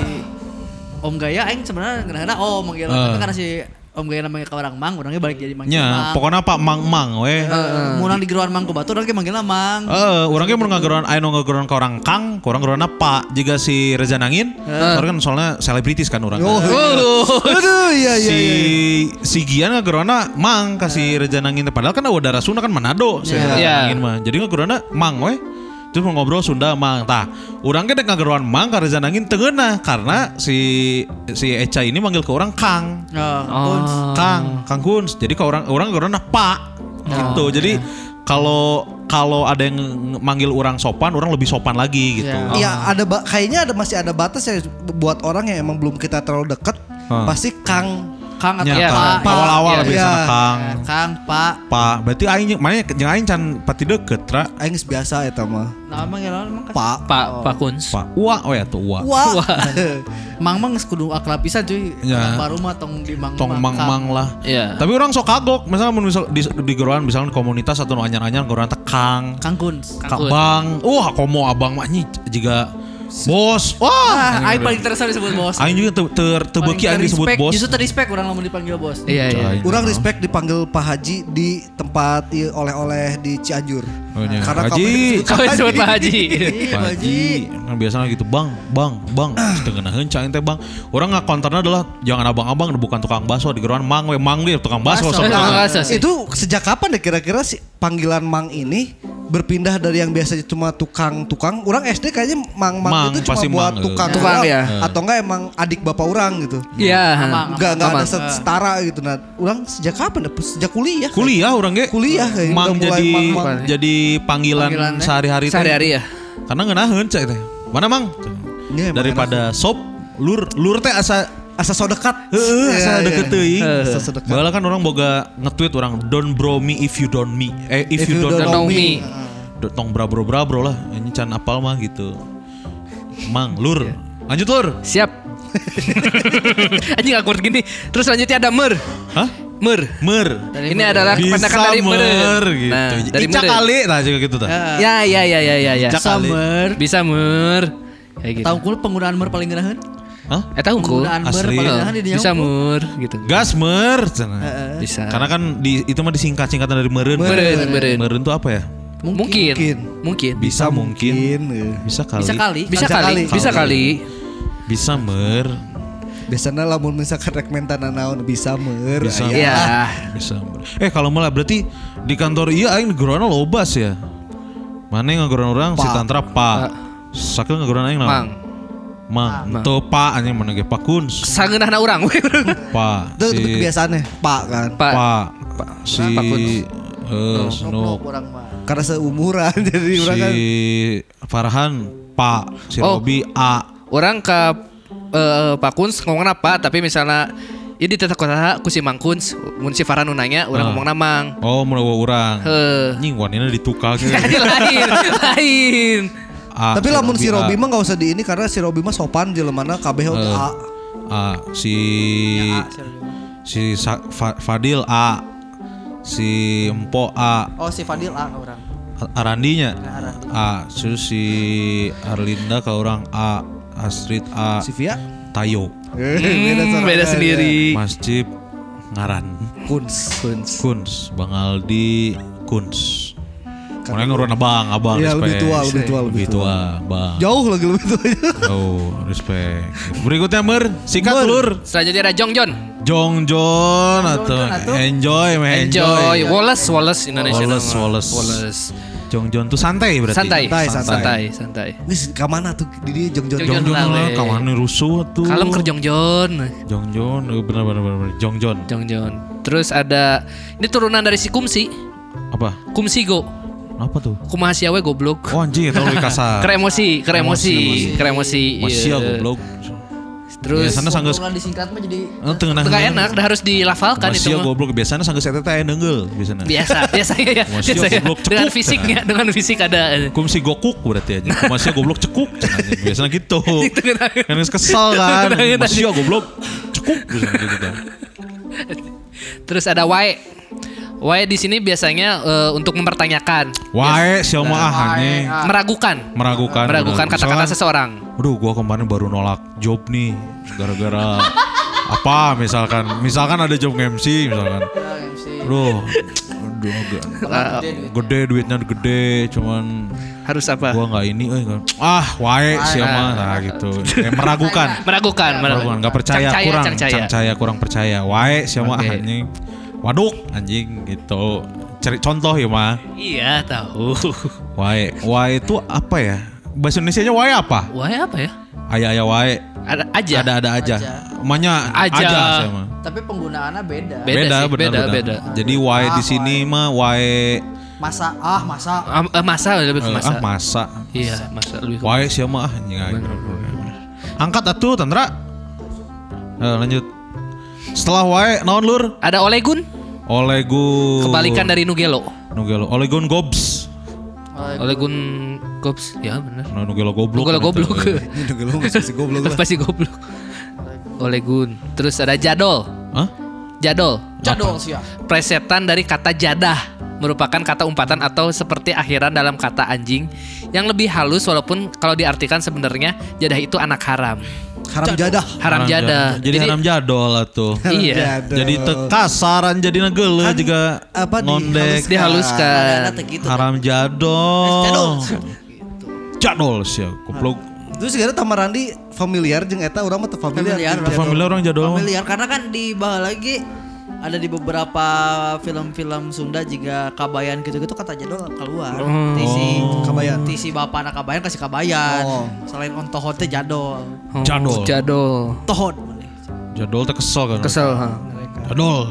Om Gaya aing sebenarnya kadang-kadang oh manggil Eh. tapi karena si Om Gaya namanya ka orang Mang, orangnya balik jadi manggil Nya, Mang. pokoknya apa mang-mang we. Heeh. Mun di geroan Mang ku Batu orang ge manggilna Mang. Eh, orang ge mun ngageroan aya nu ngageroan ka orang Kang, ka urang geroanna Pak. Jiga si Reza Nangin, orang kan soalnya selebritis kan urang. Oh, aduh, iya iya si iya. si Gian ngageroanna Mang ka si Reza Nangin. Padahal kan Wadara Sunda kan Manado si Reza Iya. Nangin mah. Jadi ngageroanna Mang we. Terus mau ngobrol Sunda Mang. Tah, urang ge dek ngageroan Mang ka Reza Nangin teu ngeunah karena si si Eca ini manggil ke orang Kang. Oh, Oh. Kang, Kang Kuns. Jadi ke orang orang orang Pak. Gitu. Jadi kalau kalau ada yang nge- manggil orang sopan, orang lebih sopan lagi gitu. Ya. Iya, ada ba- kayaknya ada masih ada batas ya buat orang yang emang belum kita terlalu dekat, Ah. pasti Kang. Kang atau Nya, Iya, Pak. Kang. Awal-awal Iya. biasanya Iya. Kang. Eh, Kang, Pak. Pak, berarti aing jeung- mana jeung aing can pati deket, Ra. Aing geus biasa eta mah. Nah, manggilna emang kan Pak. Pak, Pak Kuns. Pak. Uwa, oh ya tuh Uwa. Wah. Mang Mang geus kudu akrab pisan cuy. Ya. Orang baru mah tong di Mang Tong mang-mang lah. Iya. Tapi orang sok kagok, misalnya mun misal di, di geroan misalnya komunitas atau nu anyar-anyar geroan teh Kang, Kang Kuns. Kang Bang. Wah, komo abang mah nyi juga Bos. Wah. Ah, aing paling terasa disebut bos. Aing juga ter ter tebeki aing disebut Respect, bos. Justru ter-respect orang lamun dipanggil bos. Iya iya. Cai. Urang respect dipanggil Pak Haji di tempat ieu oleh-oleh di Cianjur. Oh, iya. Karena Haji. kabeh Kau disebut Pak Haji. Pak Haji. Kan biasanya gitu, Bang, Bang, Bang. Setengah heunca teh, Bang. Orang ngakonterna adalah jangan abang-abang bukan tukang bakso di geroan Mang we Mang dia tukang bakso. Bakso. soalnya. Tukang bakso sih. Itu sejak kapan deh kira-kira si panggilan Mang ini berpindah dari yang biasanya cuma tukang-tukang, orang S D kayaknya Mang-Mang Mang, itu cuma pasti buat Mang, tukang, eh. Tukang, doang. ya. Atau enggak emang adik bapak orang gitu. Iya. Amang. Enggak enggak ada Amang. set- setara gitu. Nah, orang sejak kapan? Sejak kuliah. Kuliah orang ge. Kuliah kayak Mang udah mulai jadi Mang-Mang. jadi panggilan, Panggilannya. sehari-hari teh. Sehari-hari ya. Karena ngeunaheun cai teh. Mana Mang? Iya, emang Daripada sop lur lur teh asa asa so dekat. Heeh, Iya, asa iya. deket teuing. Asa so dekat. Baheula kan orang boga nge-tweet orang don't bro me if you don't me. Eh if, you, don't, know know me. me. Do- Tong bra bro bra bro lah. Ini can apal mah gitu. Mang, lur. Lanjut lur. Siap. Anjing awkward gini. Terus lanjutnya ada mer. Hah? Mer. Mer. Ini adalah Bisa kependekan dari mer. mer gitu. Nah, dari Ica mer. kali nah juga gitu tah. Ya ya ya ya ya ya. Ica kali. Summer. Bisa mer. Kayak gitu. Tahu kul penggunaan mer paling geunaheun? Hah? Eh tahu ku. Penggunaan mer Asli. paling geunaheun di dieu. Bisa mer gitu. Gas mer. cenah. Bisa. Karena kan di, itu mah disingkat-singkatan dari meren. Meren, meren. Meren itu apa ya? Mungkin. Mungkin. Mungkin. Bisa mungkin. Mungkin. eh. Bisa kali. Bisa kali. Bisa Bisa kali. kali. Bisa kali. Bisa mer. Biasanya lamun misalkan rek mentana naon bisa mer. Bisa. aya. Iya. Bisa. Eh kalau malah berarti di kantor iya aing ngegorona lobas ya. Mana yang ngegorona orang si Pa. Tantra Pak. Sakeun ngegorona aing Mang. naon? Mang. Teu Pak anjing mana ge Pak Kuns. Sangeunahna urang we. Pak. Itu Si kebiasaannya Pak kan. Pak. Pak. Si Pak Kuns. eh Snoop. Orang mah. Karena seumuran jadi orang Si kan Farhan Pak. Si Oh. Robi A. Orang ke eh, Pak Kuns ngomongna apa tapi misalnya ini di tata kota ku si Mang Kuns, mun si Farhan nu nanya urang Ah. ngomongna Mang. Oh mulai urang. Heuh. Anjing wanina ditukar ke. lain, lain. A, tapi lamun si Robi A. mah gak usah di ini karena si Robi mah sopan jelemana kabeh oge Eh. A. A si si Sa- Fa- Fadil A, si Empo A, Oh si Fadil ah orang. Arandinya A, terus si Arlinda ke orang A, Astrid A, Si Via Tayo, Eh, Hmm, beda sorangan, sendiri. Mas Cip Ngaran, ya. Kuns. Kuns. Kuns, Bang Aldi, Kuns. Mana ngurun abang, abang, Iya, lebih respect. tua, lebih tua, lebih lebih tua, bang. Jauh lagi lebih tua. Jauh, respect. Berikutnya Mer, sikat Mer. lur. Selanjutnya ada Jong Jon. Jong Jon atau Jon atuh. enjoy, meh Enjoy. enjoy. Wallace, Wallace Indonesia. Wallace, nama. Wallace. Wallace. Jong Jon tuh santai berarti. Santai, Santai, santai, santai. santai. Wis ka mana tuh di dia Jong Jong Jong Jong Jon Jon lah, lah, kawan rusuh tuh. Kalem ke Jong Jon. Jong Jon, eh, benar benar benar benar. Jong Jon. Jong Jon. Terus ada ini turunan dari si Kumsi. Apa? Kumsi go. Apa tuh? Kumaha sia we goblok. Oh anjing, itu lebih kasar. Ke emosi, ke emosi, ke emosi. Masih iya. goblok. Terus Biasana sanggeus Penggunaan disingkat mah jadi eh, tengah Tengah enak, dah harus dilafalkan itu Masih mah. goblok biasanya sanggeus eta teh aya neungeul biasana. Biasa, biasa ya. Masih Biasa ya. goblok Dengan cekuk, fisiknya, dengan fisik ada. Kum si gokuk berarti aja. Masih goblok cekuk cenah. Biasanya gitu. Kan geus kesal kan. Masih goblok cekuk biasanya gitu kan. Terus ada wae. Wae di sini biasanya eh, untuk mempertanyakan, Wae sia mah ah anjing. meragukan, Meragukan. meragukan kata-kata Misalkan, seseorang. Aduh, gua kemarin baru nolak job nih gara-gara apa misalkan misalkan ada job M C misalkan. Aduh, aduh agak gede duitnya gede cuman Harus apa? gua nggak ini eh nggak- ah wae siapa nah gitu. Kayak meragukan. Meragukan, Meragukan, nggak percaya Cangcaya, kurang cangcaya. cangcaya kurang percaya. Wae siapa Oke. anjing. Waduk anjing gitu. Cari contoh ya mah. Iya tahu. Wae, wae itu apa ya? Bahasa Indonesianya wae apa? Wae apa ya? Aya-aya wae. Ada aja. Ada ada aja. Emangnya Aja. aja sama. tapi penggunaannya beda. Beda sih, benar, beda, benar. beda. Jadi wae di sini mah wae Masa ah masa Ah, eh, masa lebih ke eh, masa. ah masa. Iya, masa lebih ke Wae siapa mah ah anjing. Angkat atuh Tandra. Eh, lanjut. Setelah wae naon lur? Ada Olegun, Olegun. kebalikan dari Nugelo. Nugelo. Olegun Gobs. Olegun Gops, ya benar. Nah, Nugelo goblok. Nugelo kan goblok. itu, eh. Ini dong lu masih goblok lah. Pasti goblok. Olegun. Terus ada Jadol. Hah? Jadol. jadol sih ya. Presetan dari kata jadah, merupakan kata umpatan atau seperti akhiran dalam kata anjing Yang lebih halus walaupun kalau diartikan sebenarnya jadah itu anak haram. Haram jadah. Haram jadah. Jadi, haram jadol atuh. Iya. Jadi teu kasaran jadi geuleuh Kan juga apa di- ngondek. Dihaluskan. Ada gitu. Haram jadol. Jadol. Jadol sih goblok. Terus segala Tamarandi familiar jeung eta urang mah teu familiar. Familiar, jeung orang. jadol. Familiar orang jadol. mah. Familiar karena kan dibahas lagi ada di beberapa film-film Sunda juga kabayan gitu-gitu kata jadol keluar. Oh. Tisi Kabayan. Tisi bapak anak kabayan kasih kabayan. Oh. Selain on tohon teh jadol. Oh, Jadol. Jadol. Tohon. Jadol teh kesel kan. Kesel. ha. Jadol.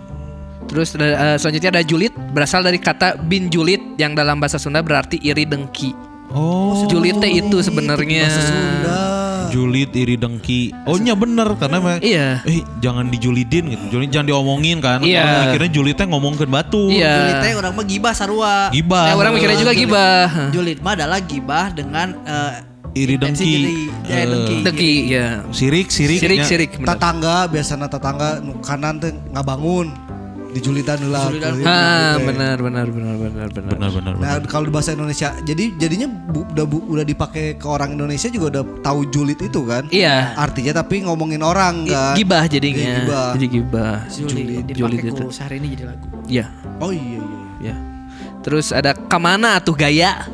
Terus eh, selanjutnya ada julid, berasal dari kata bin julid yang dalam bahasa Sunda berarti iri dengki. Oh. Julid teh itu sebenarnya. Bahasa Sunda. Julid iri dengki. Oh nya bener karena emang Iya. eh jangan dijulidin gitu. Julid jangan diomongin kan. Iya. Kalau akhirnya julidnya ngomongkeun batu. Iya. Julid teh orang mah gibah sarua. Gibah. Ya, orang mikirnya juga Julid- gibah. Julid mah adalah gibah dengan eh, Iri intensi dengki. jadi- ya, Eh, dengki. Dengki, ya. Sirik, sirik. Sirik, nya. sirik. benar. Tetangga biasana tetangga nu kanan teh ngabangun dijulitan heula. Dijulitan. kulit. Ah, Gitu. benar, benar, benar, benar, benar. Benar, benar, Nah benar. kalau di bahasa Indonesia, jadi jadinya bu, udah bu, udah dipakai ke orang Indonesia juga udah tahu julid itu kan? Iya. Artinya tapi ngomongin orang kan? Gibah jadinya. Iya, gibah. Jadi gibah. Julid Julid dipakai itu. ku sehari ini jadi lagu. Iya, Oh iya iya. ya. Terus ada kemana atuh gaya?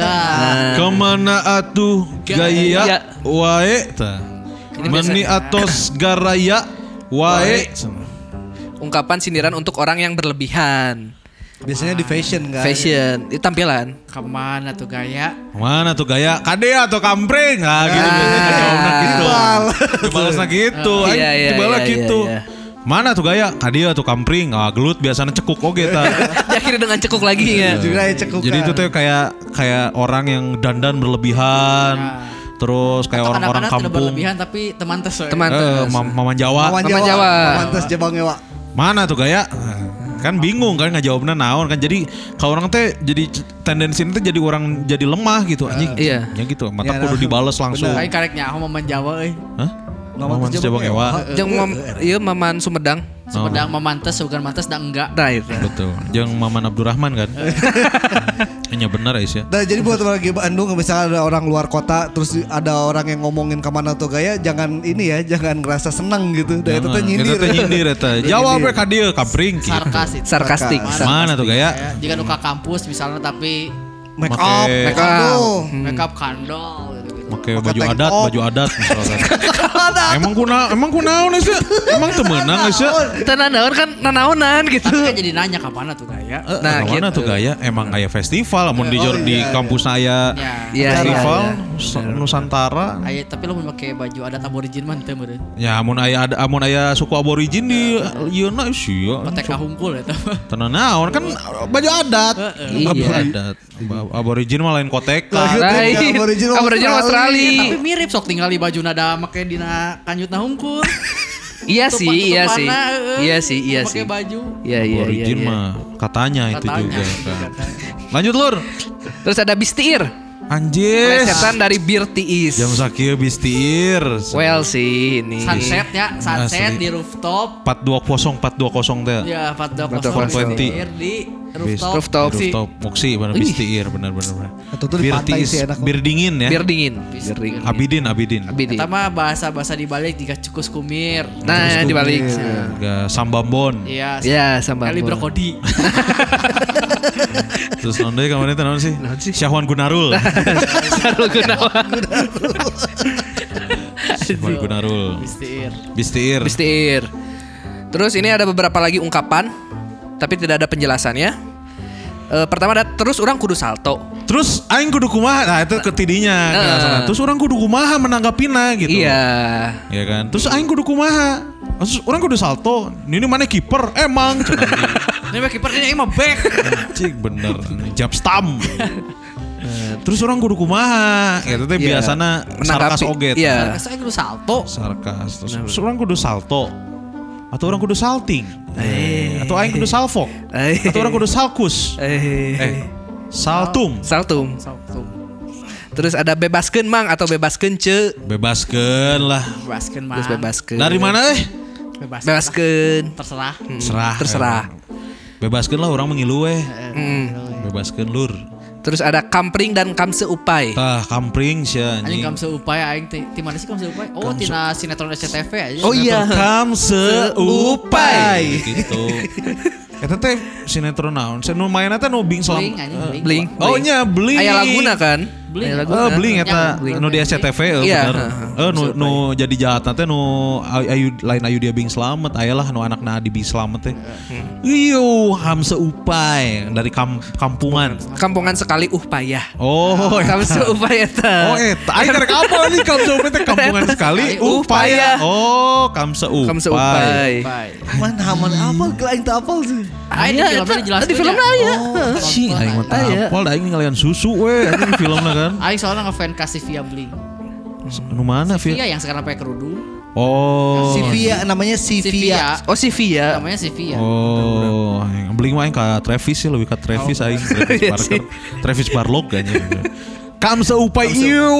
Dah. Kemana atuh Gaya. gaya wae tah. Ini Meni biasa- atos garaya wae. Ungkapan sindiran untuk orang yang berlebihan. Biasanya di fashion kan? Fashion, itu tampilan. Kemana tuh gaya? Mana tuh gaya? Kade atau kampring? Nah, gitu biasanya jawabnya gitu. Dibalasnya gitu. Iya, Aing iya, dibalas iya, gitu. iya, iya. Mana tuh gaya? Kade atau kampring? Ah, gelut biasanya cekuk oge tah. Diakhiri dengan cekuk lagi ya. Juga ya cekukan. Jadi itu tuh kayak kayak orang yang dandan berlebihan. Terus kayak Atau orang-orang kadang-kadang tidak kampung. berlebihan tapi teman tes. we. Teman Eh, tes. mam- Maman Jawa. Maman Mama Jawa. Jawa. Mantas Jabang Ewa. Mana tuh gaya? Kan bingung kan ngejawabnya naon kan. Jadi kalau orang teh jadi c- tendensi itu jadi orang jadi lemah gitu anjing. iya. Ya gitu. Mata Ya, kudu nah. dibales langsung. Kayak karek nyaho momen Jawa euy. Hah? Maman Maman Jabang Jabang Ewa. Jeung mam, ieu Maman Sumedang. Sumedang memantes bukan mantes dah enggak. Nah, itu. Betul. Jeung Maman Abdurrahman kan. Hanya benar Ais ya. Nah jadi buat lagi Bandung misalnya ada orang luar kota terus ada orang yang ngomongin kemana tuh gaya jangan ini ya jangan ngerasa senang gitu. Dan itu tuh Jangan. nyindir. Eta teh nyindir eta. Jawabnya ka dieu kampring gitu. Sarkas itu. Sarkastik. Sarkas. Mana tuh gaya? Ya, jika nuka kampus misalnya tapi Make Make- up, make up. aduh. makeup kandol gitu-gitu. Pakai Pakai baju tank adat, top. baju adat misalkan. Emang kuna emang kunaon Ais ya? Emang teu meunang Ais ya? Kita nanaon kan nanaonan gitu. Tapi kan jadi nanya kapan tuh gaya. Nah, Nah, mana gitu. tuh gaya? Emang aya festival, amun di Oh, di iya, kampus aya Ya. Iya, festival iya, Nusa- Nusantara. Ayo, tapi lo mau pakai baju adat aborigin mah teu meureun. Ya amun aya ada amun aya suku aborigin di ieu na sia. Kotek kahungkul eta mah. Tenan naon kan baju adat. Iya. Baju adat. Ba- Aborigin mah lain kotek. Lain. Lain. Aborigin Aborigin Australia. Tapi Australia. mirip sok tinggal di baju nada make dina kanjutna hungkul. Iya sih, iya sih. Tutupanna, eueuh. Iya sih, iya sih. Pakai baju. Iya, iya, iya. Aborigin iya. mah katanya itu Katanya. juga kan. Lanjut Lur. Terus ada bistiir. Anjir. Plesetan dari bir tiis. Jam sakieu bistiir. Well sih ini. Sunset ya, sunset Asli. di rooftop. empat dua nol empat dua nol teh. Ya, empat dua empat dua kosong kosong. bistiir di rooftop. Rooftop. Si- Rooftop Muksi bener Ih. bistiir bener bener bener. Atau tuh di Bir pantai tiis, sih enak. bir dingin ya. Bir dingin. Bir dingin. Abidin Abidin. Abidin. Eta mah bahasa-bahasa dibalik jika cukus kumir. Nah, di balik. Ga Sambambon. Iya. Ya, sama. Kali brokodi. Terus nonde kemarin itu naon sih? Naon sih? Syahwan Gunarul. Sarul Gunawan. Syahwan Gunarul. Bistiir. Bistiir. Bistiir. Terus ini ada beberapa lagi ungkapan, tapi tidak ada penjelasannya. Eh, pertama ada terus orang kudu salto. Terus aing kudu kumaha? Nah, itu ketidinya. Heeh. Terus orang kudu kumaha menanggapina gitu. Iya. Iya kan? Terus aing kudu kumaha? Terus orang kudu salto. Ini mana kiper? Emang cenah. Ini mah kiper ini mah back. Cik bener. Jab stam. Eh, Terus orang kudu kumaha? Itu teh Iya. biasana Menanggapi. sarkas oge. teh. Iya. Saya kudu salto. Sarkas. Terus, terus orang kudu salto. Atau orang kudu salting. Atau aing kudu salfok. Eh. Atau orang kudu salkus. Eh. Eh, saltum. Saltum. Salto. Terus ada bebaskeun mang atau bebaskeun ce. Bebaskeun lah. Bebaskeun mah. Terus bebaskeun. Dari mana eh? Bebas. Bebaskeun. Terserah. Hmm, Serah. Terserah. Bebaskeun lah orang mengilu eh. Hmm. Bebaskeun lur. Terus ada kampring dan kamse upai. Tah kampring sia Anjing anjing. kamse upaya aing teh. Ti mana sih kamse upaya? Oh, tina sinetron S C T V aja. Oh iya. Kamse upai. Upai. Gitu. Eta teh sinetron naon? Saya nu mainna teh nu Bing Selam. Bling anjing bling. Bling. Oh nya Bling. Aya laguna kan? Bling. Aya Oh, Bling eta Bling. nu di S C T V eh, Iya, bener. heeh. Eh nu nu jadi jahatna teh nu ayu lain ayu dia Bing Slamet, ayalah nu anakna Adi Bing Slamet teh. Iyo, Hamse Upai dari kam, kampungan. Kampungan sekali uh payah. Oh, eta. Kamse upai eta. Oh, eta. Aing karek apa nih Kamse Upai teh kampungan sekali Uh, upaya. payah. Oh, Kamse Upai. Kamse upai. Upai. Man haman apal ke aing teu apal sih. Aya di filmnya dijelaskeun. Di filmnya aya. Cing, aing mah teu Aya. apal, da aing ngalian susu we anjing filmna kan. Aing soalnya ngefans kasih via Bling. Nu mana, Via Fir? yang sekarang pakai kerudung. Oh. Si Via namanya si Si Via. Via. Oh si Via. Namanya si Via. Oh, yang beli mah aing ka Travis sih lebih ke Travis aing Travis Iya Barker. sih. Travis Barlog kayaknya. Kamse Upai ieu.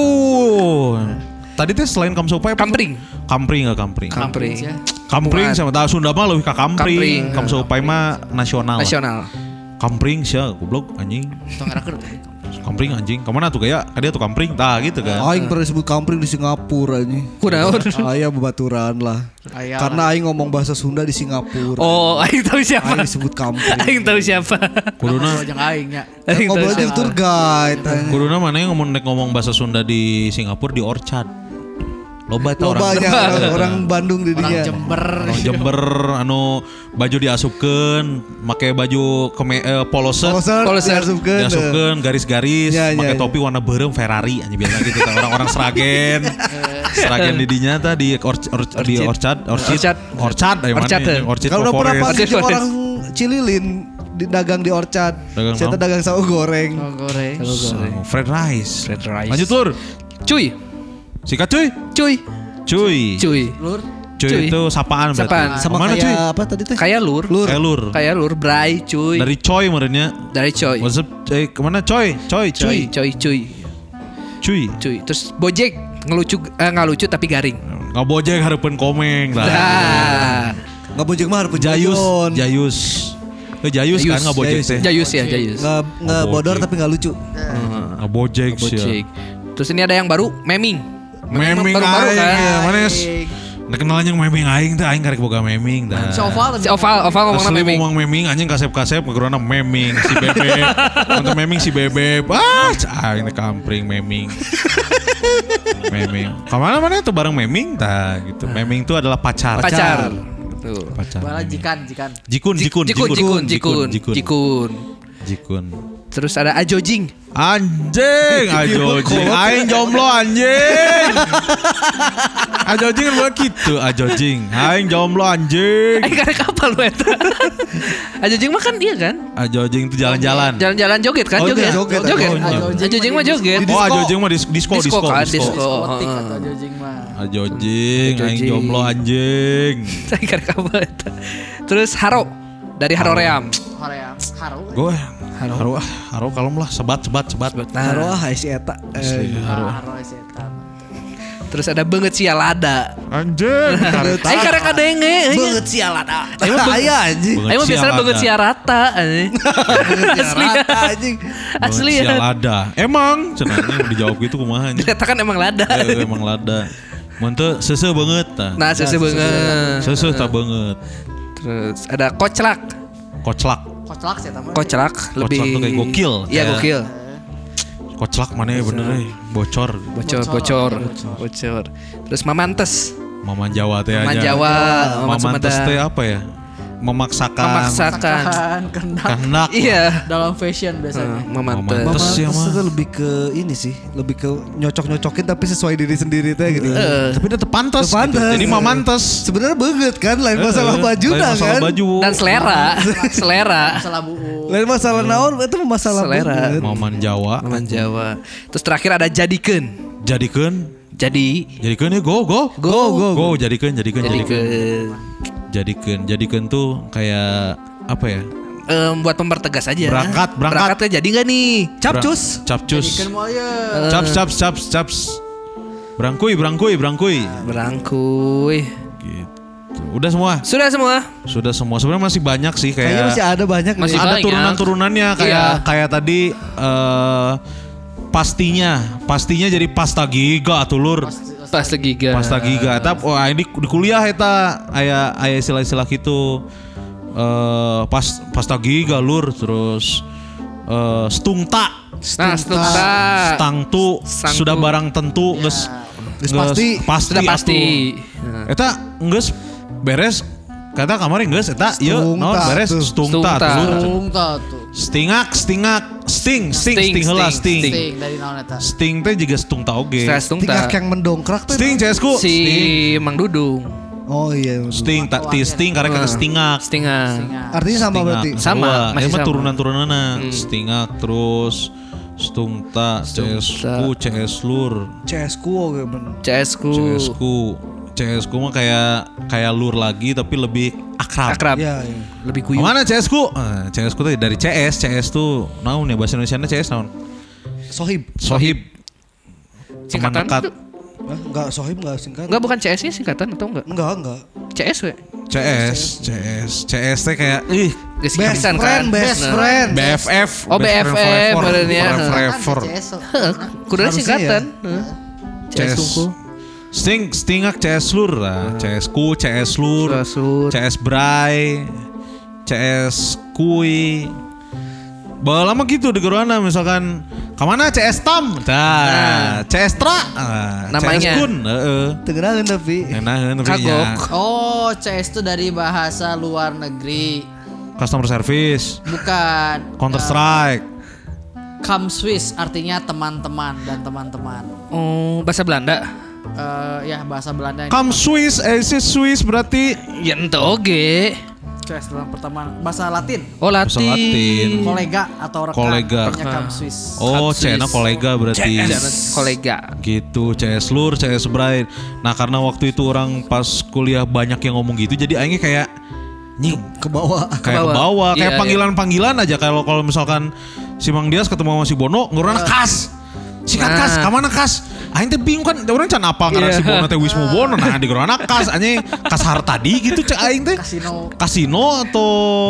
Tadi teh selain Kamse Upai apa? Kampring. Kampring enggak kampring. Kampring. ya. Kampring sama tahu Sunda mah lebih ke Kampring. kampring. Kamse Upai mah nasional. Nasional. Kampring sia goblok anjing. Tong ngerakeun. Kampring anjing. Kemana tuh kayak dia tuh kampring tah gitu kan. Aing pernah disebut kampring di Singapura anjing. Kunaon? Aya bebaturan lah. Aya Karena aing ngomong bahasa Sunda di Singapura. Oh, aing tahu siapa. Aing disebut kampring. Aing tahu siapa. Kuduna jeung aing nya. Aing tahu Ngobrol di siapa. tour guide. anjing. Kuduna mana yang ngomong nek ngomong bahasa Sunda di Singapura di Orchard. Loba eta Lo orang. banyak orang, orang Bandung di Orang dinya. Jember. Orang Jember anu baju diasupkeun, make baju keme, eh, poloset, Poloser, Poloser. diasupkeun. diasupkeun garis-garis, Ya, ya, make ya. topi warna beureum Ferrari anjing biasa gitu tah orang-orang Sragen. Sragen di dinya tah di Orch, Orch, di Orchard, Orchard, Orchard. Orchard, ayo mana Orchard. anjing, Orchard Kalau udah pernah Forest. panggil Forest. orang Cililin di dagang di Orchard. Dagang Saya naon? dagang sawo goreng. Oh, goreng. Oh, Fred Rice. Fred Rice. Lanjut Lur. Cuy. Sikat cuy. Cuy. Cuy. Cuy. Lur. Cuy Cuy. itu sapaan berarti. Sapaan. Sama Mana kayak cuy? apa tadi teh? Kayak lur. Lur. Kayak lur. Kayak lur. Bray cuy. Dari coy merenya. Dari coy. What's up? Eh, kemana coy? Coy, Cuy. cuy. Cuy. Cuy. Cuy. Cuy. Terus Bojek ngelucu eh, nggak lucu tapi garing. Ngabojek hareupeun komeng dah. Dah. Nggak bojek mah harus Jayus, pejayon. Jayus. Eh Jayus kan Jayus, ngabojek Jayus. teh. Jayus ya, Jayus. Nggak nggak Nggak bodor bojek. tapi nggak lucu. Ngabojek sih. Bojek. Terus ini ada yang baru, meming. Meming baru-baru aing kan. ya, manes. Nek kenalnya meming aing teh aing karek boga meming dah. Si Oval. Si Oval, Oval ngomongna Asli meming. ngomong meming anjing kasep-kasep ngegerona meming si bebek. Untuk meming si bebek. Ah, aing teh kampring meming. Meming. Kemana mana tuh bareng meming tah gitu. Meming itu adalah pacar. Pacar. Tuh. Pacar. Bala meming. jikan, jikan. Jikun, jikun, Jikun, jikun, jikun, jikun, jikun. jikun. Terus ada Ajojing. Anjing, ajojing, aing jomblo anjing. Ajojing kan bukan gitu, ajojing, aing jomblo anjing. Aing karek kapal lu eta. Ajojing mah kan dia kan? Ajojing itu jalan-jalan. Jalan-jalan joget kan? Oh, joget. iya, joget. Joget. Oh, iya. Ajojing mah joget. Oh, ajojing mah dis- disco, Disco disco, kan, disco. disco. Otik Heeh. atau jojing mah. Ajojing, aing Ajojing. jomblo anjing. Aing karek kapal eta. Terus Haro dari Haro Ream. Korea. Haru. Gue haro, ah, haro kalem lah, sebat, sebat, sebat. Haruah si eta. Asli, haro. Haru setan. Terus ada banget si Lada. Anjing, kareta. Aing karek kadenge. Banget sialan ah. Aing mah Aya anjing. Aing mah biasanya banget si Rata. Asli ya. Rata anjing. Asli Sial ya. ada. Emang, cenanya dijawab gitu kumaha anjing. Dikatakan emang Lada. Eh, emang lada. Mantep sese banget tah. Nah, sese banget. Sese tak banget. Terus ada Koclak. Koclak. Koclak sih tamu. Koclak lebih tuh kayak gokil. Iya, Kayak- gokil. Koclak mana ya bener eh. Bocor. Bocor, bocor, bocor. Terus Mamantes. Maman Jawa teh aja. Maman Jawa, Maman Mamantes Sumedang. teh apa ya? Memaksakan. Memaksakan. Kan kendak Kehendak. Iya. dalam fashion biasanya. Mamantes. Mamantes. Mama ya, mah. itu lebih ke ini sih, lebih ke nyocok-nyocokin tapi sesuai diri sendiri teh gitu. Eh, Tapi dia tepantes. Teu pantes. Gitu. Jadi mamantes. Sebenarnya banget kan, lain masalah Eh, baju lain dah masalah kan. baju. Dan selera, selera. Masalah buu. Lain masalah naon itu masalah Selera. banget. Maman Jawa. Maman Jawa. Terus terakhir ada Jadikeun. Jadikeun. Jadi Jadikeun ya go go. Go, go, Go jadikeun jadikeun jadikeun. Jadikeun. Jadikeun jadikeun tuh kayak apa ya? Em, buat mempertegas aja. Berangkat, berangkat. Berangkatnya jadi nggak nih? Capcus. Capcus. Jadikan mau ya. Caps caps caps caps. Berangkui berangkui berangkui. Berangkuy. Gitu. Udah semua. Sudah semua. Sudah semua. Sebenarnya masih banyak sih kayak. Kayaknya masih ada banyak Masih nih. ada banyak. turunan-turunannya kayak Iya. kayak tadi eh pastinya, pastinya jadi pasta giga tuh lur. Pasta giga. Pasta giga. Tapi wah ini di kuliah eta aya aya istilah-istilah gitu. Eh pas pasta giga lur terus eh stungta. Nah, stungta. Stangtu Stangtu. sudah barang tentu geus Geus geus pasti. pasti Sudah pasti. atuh. Eta geus beres kata kamari geus eta ieu naon Stungta beres tuh. stungta Stungta. tuh lur. Tungta tuh. Stingak, stingak, sting, sting, Sting, sting heula sting, sting. Sting dari naon eta? Sting teh juga stungta oge. Stres tungta. Tingkah yang mendongkrak tuh. Sting Cesku. Si Sting. Mang Dudung. Oh iya. Sting, tak ti sting karena kata stingak. Stinga. Artinya sama berarti. Sama, Wah, masih emang sama. turunan-turunanna. Stingak terus stungta, Cesku, Ceslur, C S ku oke bener. C S ku. Cesku. Cesku mah kayak kayak lur lagi tapi lebih akrab. Akrab. Iya, iya. Lebih guyup. Mana C S ku? Eh, C S ku tuh dari C S, C S tuh naon ya bahasa Indonesianya C S naon? Sohib. Sohib. Teman Singkatan dekat. itu? Hah? Enggak sohib enggak singkat. Enggak, bukan C S-nya singkatan atau enggak? Enggak, enggak. C S we. C S, C S, C S teh kayak ih Geus Best singkatan friend, kan? best Nah. friend. B F F. Oh, best friend B F F forever. badannya. Forever. Heuh, kuduna Harusnya singkatan. Heeh. C S C S. sungku. Sting, stingak C S lur lah. C S ku, C S lur, C S lur. C S bray, C S kui. Bawa lama gitu di Gerwana misalkan kemana C S tam, nah, C S tra, nah, Namanya. C S kun, heeh. Tengenahan tapi. Enakeun tapi Kagok. nya. Oh, C S itu dari bahasa luar negeri. Customer service, Bukan. Counter Strike. Come Swiss artinya teman-teman dan teman-teman. Oh, bahasa Belanda. Eh ya bahasa Belanda. Come Swiss, eh si Swiss berarti Ya ente oge. C S dalam pertama bahasa Latin. Oh, Bahasa Latin. Latin. Kolega atau rekan. Kolega. Artinya come Swiss. oh Come Cena Swiss. kolega berarti. Jangan kolega. Gitu, C S lur, C S Bright. Nah karena waktu itu orang pas kuliah banyak yang ngomong gitu, jadi aingnya kayak nying Ke bawah. kayak ke bawah. bawah, Iya, kayak iya. panggilan-panggilan aja. Kalau kalau misalkan si Mang Dias ketemu sama si Bono, ngurana kas, sikat Nah. kas, kamana kas. Aing teh bingung kan, orang can apa karena Iya. si Bono teh Wismu Bono, nah di ngurana kas, anjing kas Hartadi gitu cek aing teh. Kasino. Kasino atau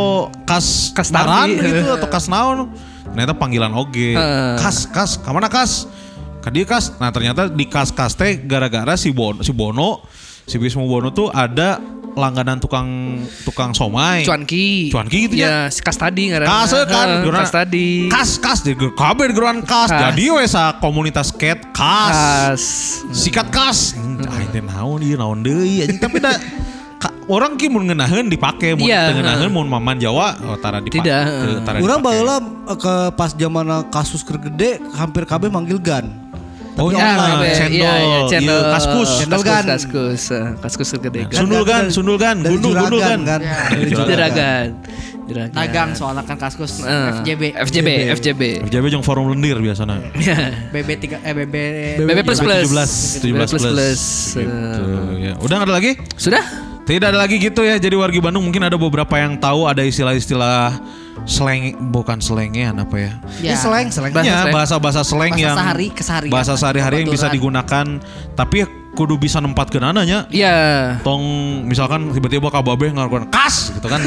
kas Kas Naran Tardi. gitu atau kas naon. Ternyata panggilan oge. Heeh. Kas, kas, kamana kas? Kadi kas. Nah ternyata di kas-kas teh gara-gara si Bono, si Bono, si Wismu Bono tuh ada langganan tukang tukang somai. Cuanki. Cuanki gitu ya. Kas tadi ngaranna. Kas eh, kan, Heeh, geurana- Kas tadi. Kas, kas, di kabeh di geruan kas. Kas. Jadi we sa komunitas skate kas. Kas. Sikat kas. Aing teh naon ieu naon deui anjing tapi da ka- orang ki mun ngeunaheun dipake mun Iya, teu ngeunaheun heeh. mun maman Jawa oh, tara dipake. Tidak, Teu- heeh. tara Urang dipake. baheula ke pas zaman kasus keur gede hampir kabeh manggil gan. Oh Ya, iya, kabeh. cendol, Iya, iya, cendol. iya, kaskus. Cendol Kaskus, gan. Kaskus. eh, Kaskus gede kan. Sundul gan, sundul gan, Dari gundul, gundul juragan gan. kan. Ya. Dari Juragan. Juragan. Juragan. Nagang soalnya kan kaskus Eh, F J B. F J B. F J B. F J B jeung forum lendir biasana. B B tiga eh B B B B plus plus. tujuh belas, tujuh belas plus plus. Gitu, ya. Udah nggak ada lagi? Sudah? Tidak ada lagi gitu ya. Jadi wargi Bandung mungkin ada beberapa yang tahu ada istilah-istilah slang, bukan slangian apa ya? Ini slang, slang. Bahasa Ya, slang. bahasa-bahasa slang Bahasa yang sehari, keseharian. bahasa sehari-hari yang bisa Kebetulan. digunakan tapi kudu bisa nempat ke nananya. Iya. Tong misalkan tiba-tiba kababeh ngarukan kas gitu kan.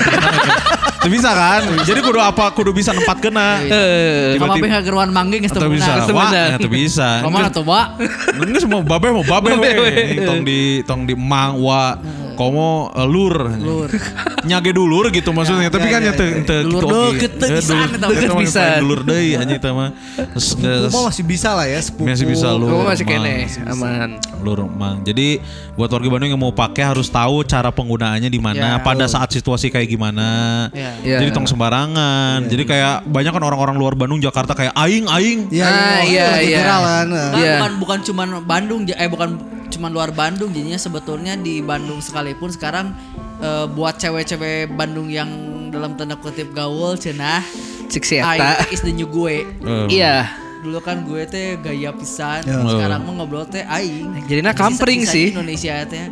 Itu bisa kan? Jadi kudu apa? Kudu bisa nempat kena. Eh, Sama Tiba-tiba- B H geruan manggeng geus Atau teu bisa, beunang. Itu wah, benar. ya, itu bisa. Kemana tuh, Pak? Ini semua babeh mau babeh Babeh we. we. Tong di tong di mang wa komo eh, lur. Lur. Nyage dulur gitu maksudnya. Tapi kan ya, ya teu ya. teu Dulur gitu deukeut teu Eh, pisan dulur- eta. deukeut Deukeut pisan. pisan. Dulur deui anjing teh mah. Terus Sepupu geus- mah masih bisa lah ya sepupu. Masih bisa lu. Kamu masih Mang. kene, aman. Lur mang. Jadi buat warga Bandung yang mau pakai harus tahu cara penggunaannya di mana Ya, pada saat situasi kayak gimana. Ya. Ya. Jadi tong sembarangan. Jadi kayak banyak kan orang-orang luar Bandung Jakarta kayak aing aing. Iya, Ah, iya, iya, lagi iya. viral kan. Nah, Iya. bukan bukan cuman Bandung j- eh bukan cuman luar Bandung jadinya sebetulnya di Bandung sekalipun sekarang eh, buat cewek-cewek Bandung yang dalam tanda kutip gaul cenah Cik si aing Eta. teh is the new gue. Eh, Iya. Dulu kan gue teh gaya pisan, Ya. sekarang mah ngobrol teh aing. Jadinya Sisa- kampring sisa sih. Indonesia teh.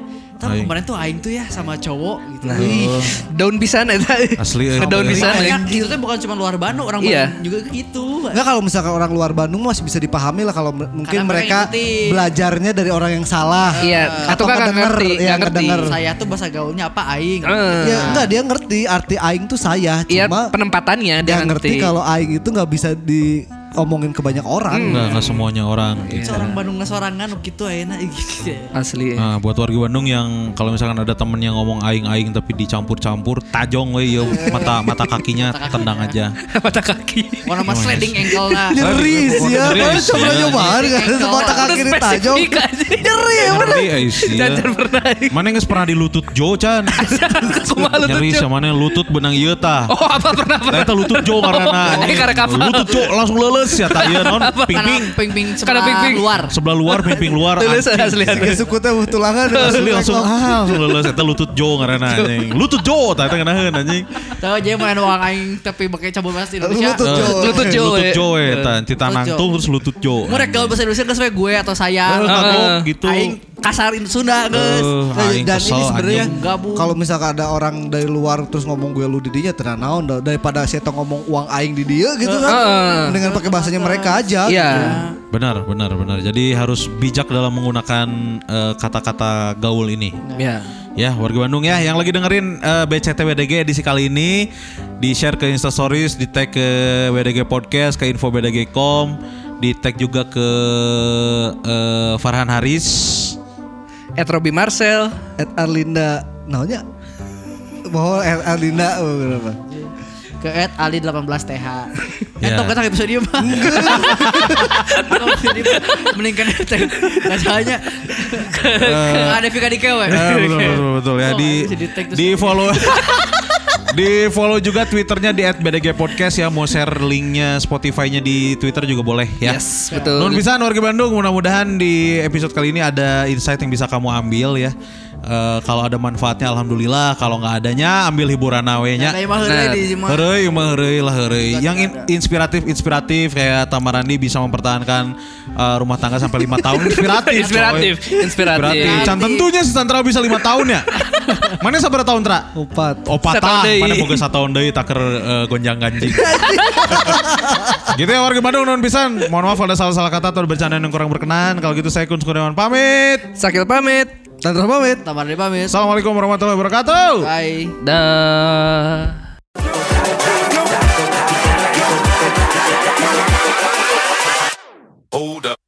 Ternyata Aing. kemarin tuh aing tuh ya sama cowok gitu. Nah, daun pisan eta. Asli, eh. Daun pisan. Makanya itu tuh bukan cuma luar Bandung, orang Iya. Bandung juga gitu. Enggak, kalau misalkan orang luar Bandung masih bisa dipahami lah kalau m- mungkin Karena mereka mereka ngikutin. belajarnya dari orang yang salah. Iya, atau kan nggak ngedenger, ngerti, ya, nggak ngerti. ngedenger. Saya tuh bahasa gaulnya apa aing. Eh. Ya enggak, dia ngerti arti aing tuh saya, Iya, cuma penempatannya dia dia nggak ngerti kalau aing itu nggak bisa diomongin ke banyak orang. Enggak, enggak semuanya orang gitu. Seorang Bandung sorangan gitu ayeuna gitu. asli. Nah, buat warga Bandung yang kalau misalkan ada temen yang ngomong aing-aing tapi dicampur-campur, tajong we ya mata mata kakinya tendang aja. Mata kaki. Warna mas sliding ankle lah. Nyeri sih ya, Nyeri mana sih, coba ya. nyobain kan Ankle. mata kaki Udah ditajong. spesifik aja. Nyeri ya bener. Nyeri eh, sih. ya. Jangan pernah. Mana nggak pernah di lutut Jo Chan? Kumaha lutut Nyeri Jo? sama mana lutut benang ieu tah. Oh, apa pernah pernah. Eta lutut Jo karena Oh, ini karek apa? lutut Jo langsung leuleus ya tah ieu naon ping-ping. Karena ping-ping Karena sebelah ping-ping. luar. Sebelah luar ping-ping luar. Leuleus anjing. asli asli. Kayak suku teh tulangan. Asli langsung ah langsung leuleus eta lutut Jo ngaranna anjing. Lutut Jo tah eta ngeunaheun anjing. Tahu aja main uang aing tapi pakai cabut bahasa Indonesia. Lutut Jo. Eh, Lutut Jo, Lutut eh. Jo eta Cita Lutut nangtung Jo. terus lutut Jo. Mereka gaul bahasa Indonesia geus we gue atau saya. Eh, kagok gitu. Aing kasarin Sunda geus. Eh, Nah, aing dan kesel ini sebenarnya anjing. Gabung. kalau misalkan ada orang dari luar terus ngomong gue lu di dinya tenang naon dah. Daripada saya ngomong uang aing di dia gitu kan. Heeh. Dengan pakai bahasanya mereka aja. Iya. Benar, benar, benar. Jadi harus bijak dalam menggunakan eh, kata-kata gaul ini. Ya. Ya, warga Bandung ya, yang lagi dengerin eh, B C T W D G edisi kali ini, di-share ke Instastories, di-tag ke W D G Podcast, ke info B D G titik com, di-tag juga ke eh, Farhan Haris. Ed Robi Marcel. Ed Arlinda naonnya? Bahwa Ed Arlinda oh, berapa? Ke at Ali delapan belas T H. Ya. Entong kata episode mah. Meningkan teh. Rasanya ada Vika di kewe. Eh, betul, betul, betul ya. Oh, Di bisa di-tag terus. di follow di follow juga Twitternya di at B D G Podcast ya. Mau share linknya Spotify-nya di Twitter juga boleh ya. Yes, betul. Nun pisan warga Bandung, mudah-mudahan di episode kali ini ada insight yang bisa kamu ambil ya. Eh, kalau ada manfaatnya alhamdulillah, kalau nggak adanya ambil hiburan awenya. Kayak mah heureuy Nah, di mah. Heureuy mah heureuy lah heureuy. Yang in- inspiratif-inspiratif kayak Tamarandi bisa mempertahankan eh, rumah tangga sampai lima tahun inspiratif. Inspiratif, coy. inspiratif. Can tentunya si Tantra bisa lima tahun ya. Mana sabar tahun Tra? Empat. Opat Satahun tah, deui. mana boga satahun deui taker eh, gonjang ganjing. Gitu ya warga Bandung non pisan. Mohon maaf kalau ada salah-salah kata atau bercandaan yang kurang berkenan. Kalau gitu saya Kun Kurniawan pamit. Sakil pamit. Tantra pamit. Tamar di pamit. Assalamualaikum warahmatullahi wabarakatuh. Bye. Dah. Hold up.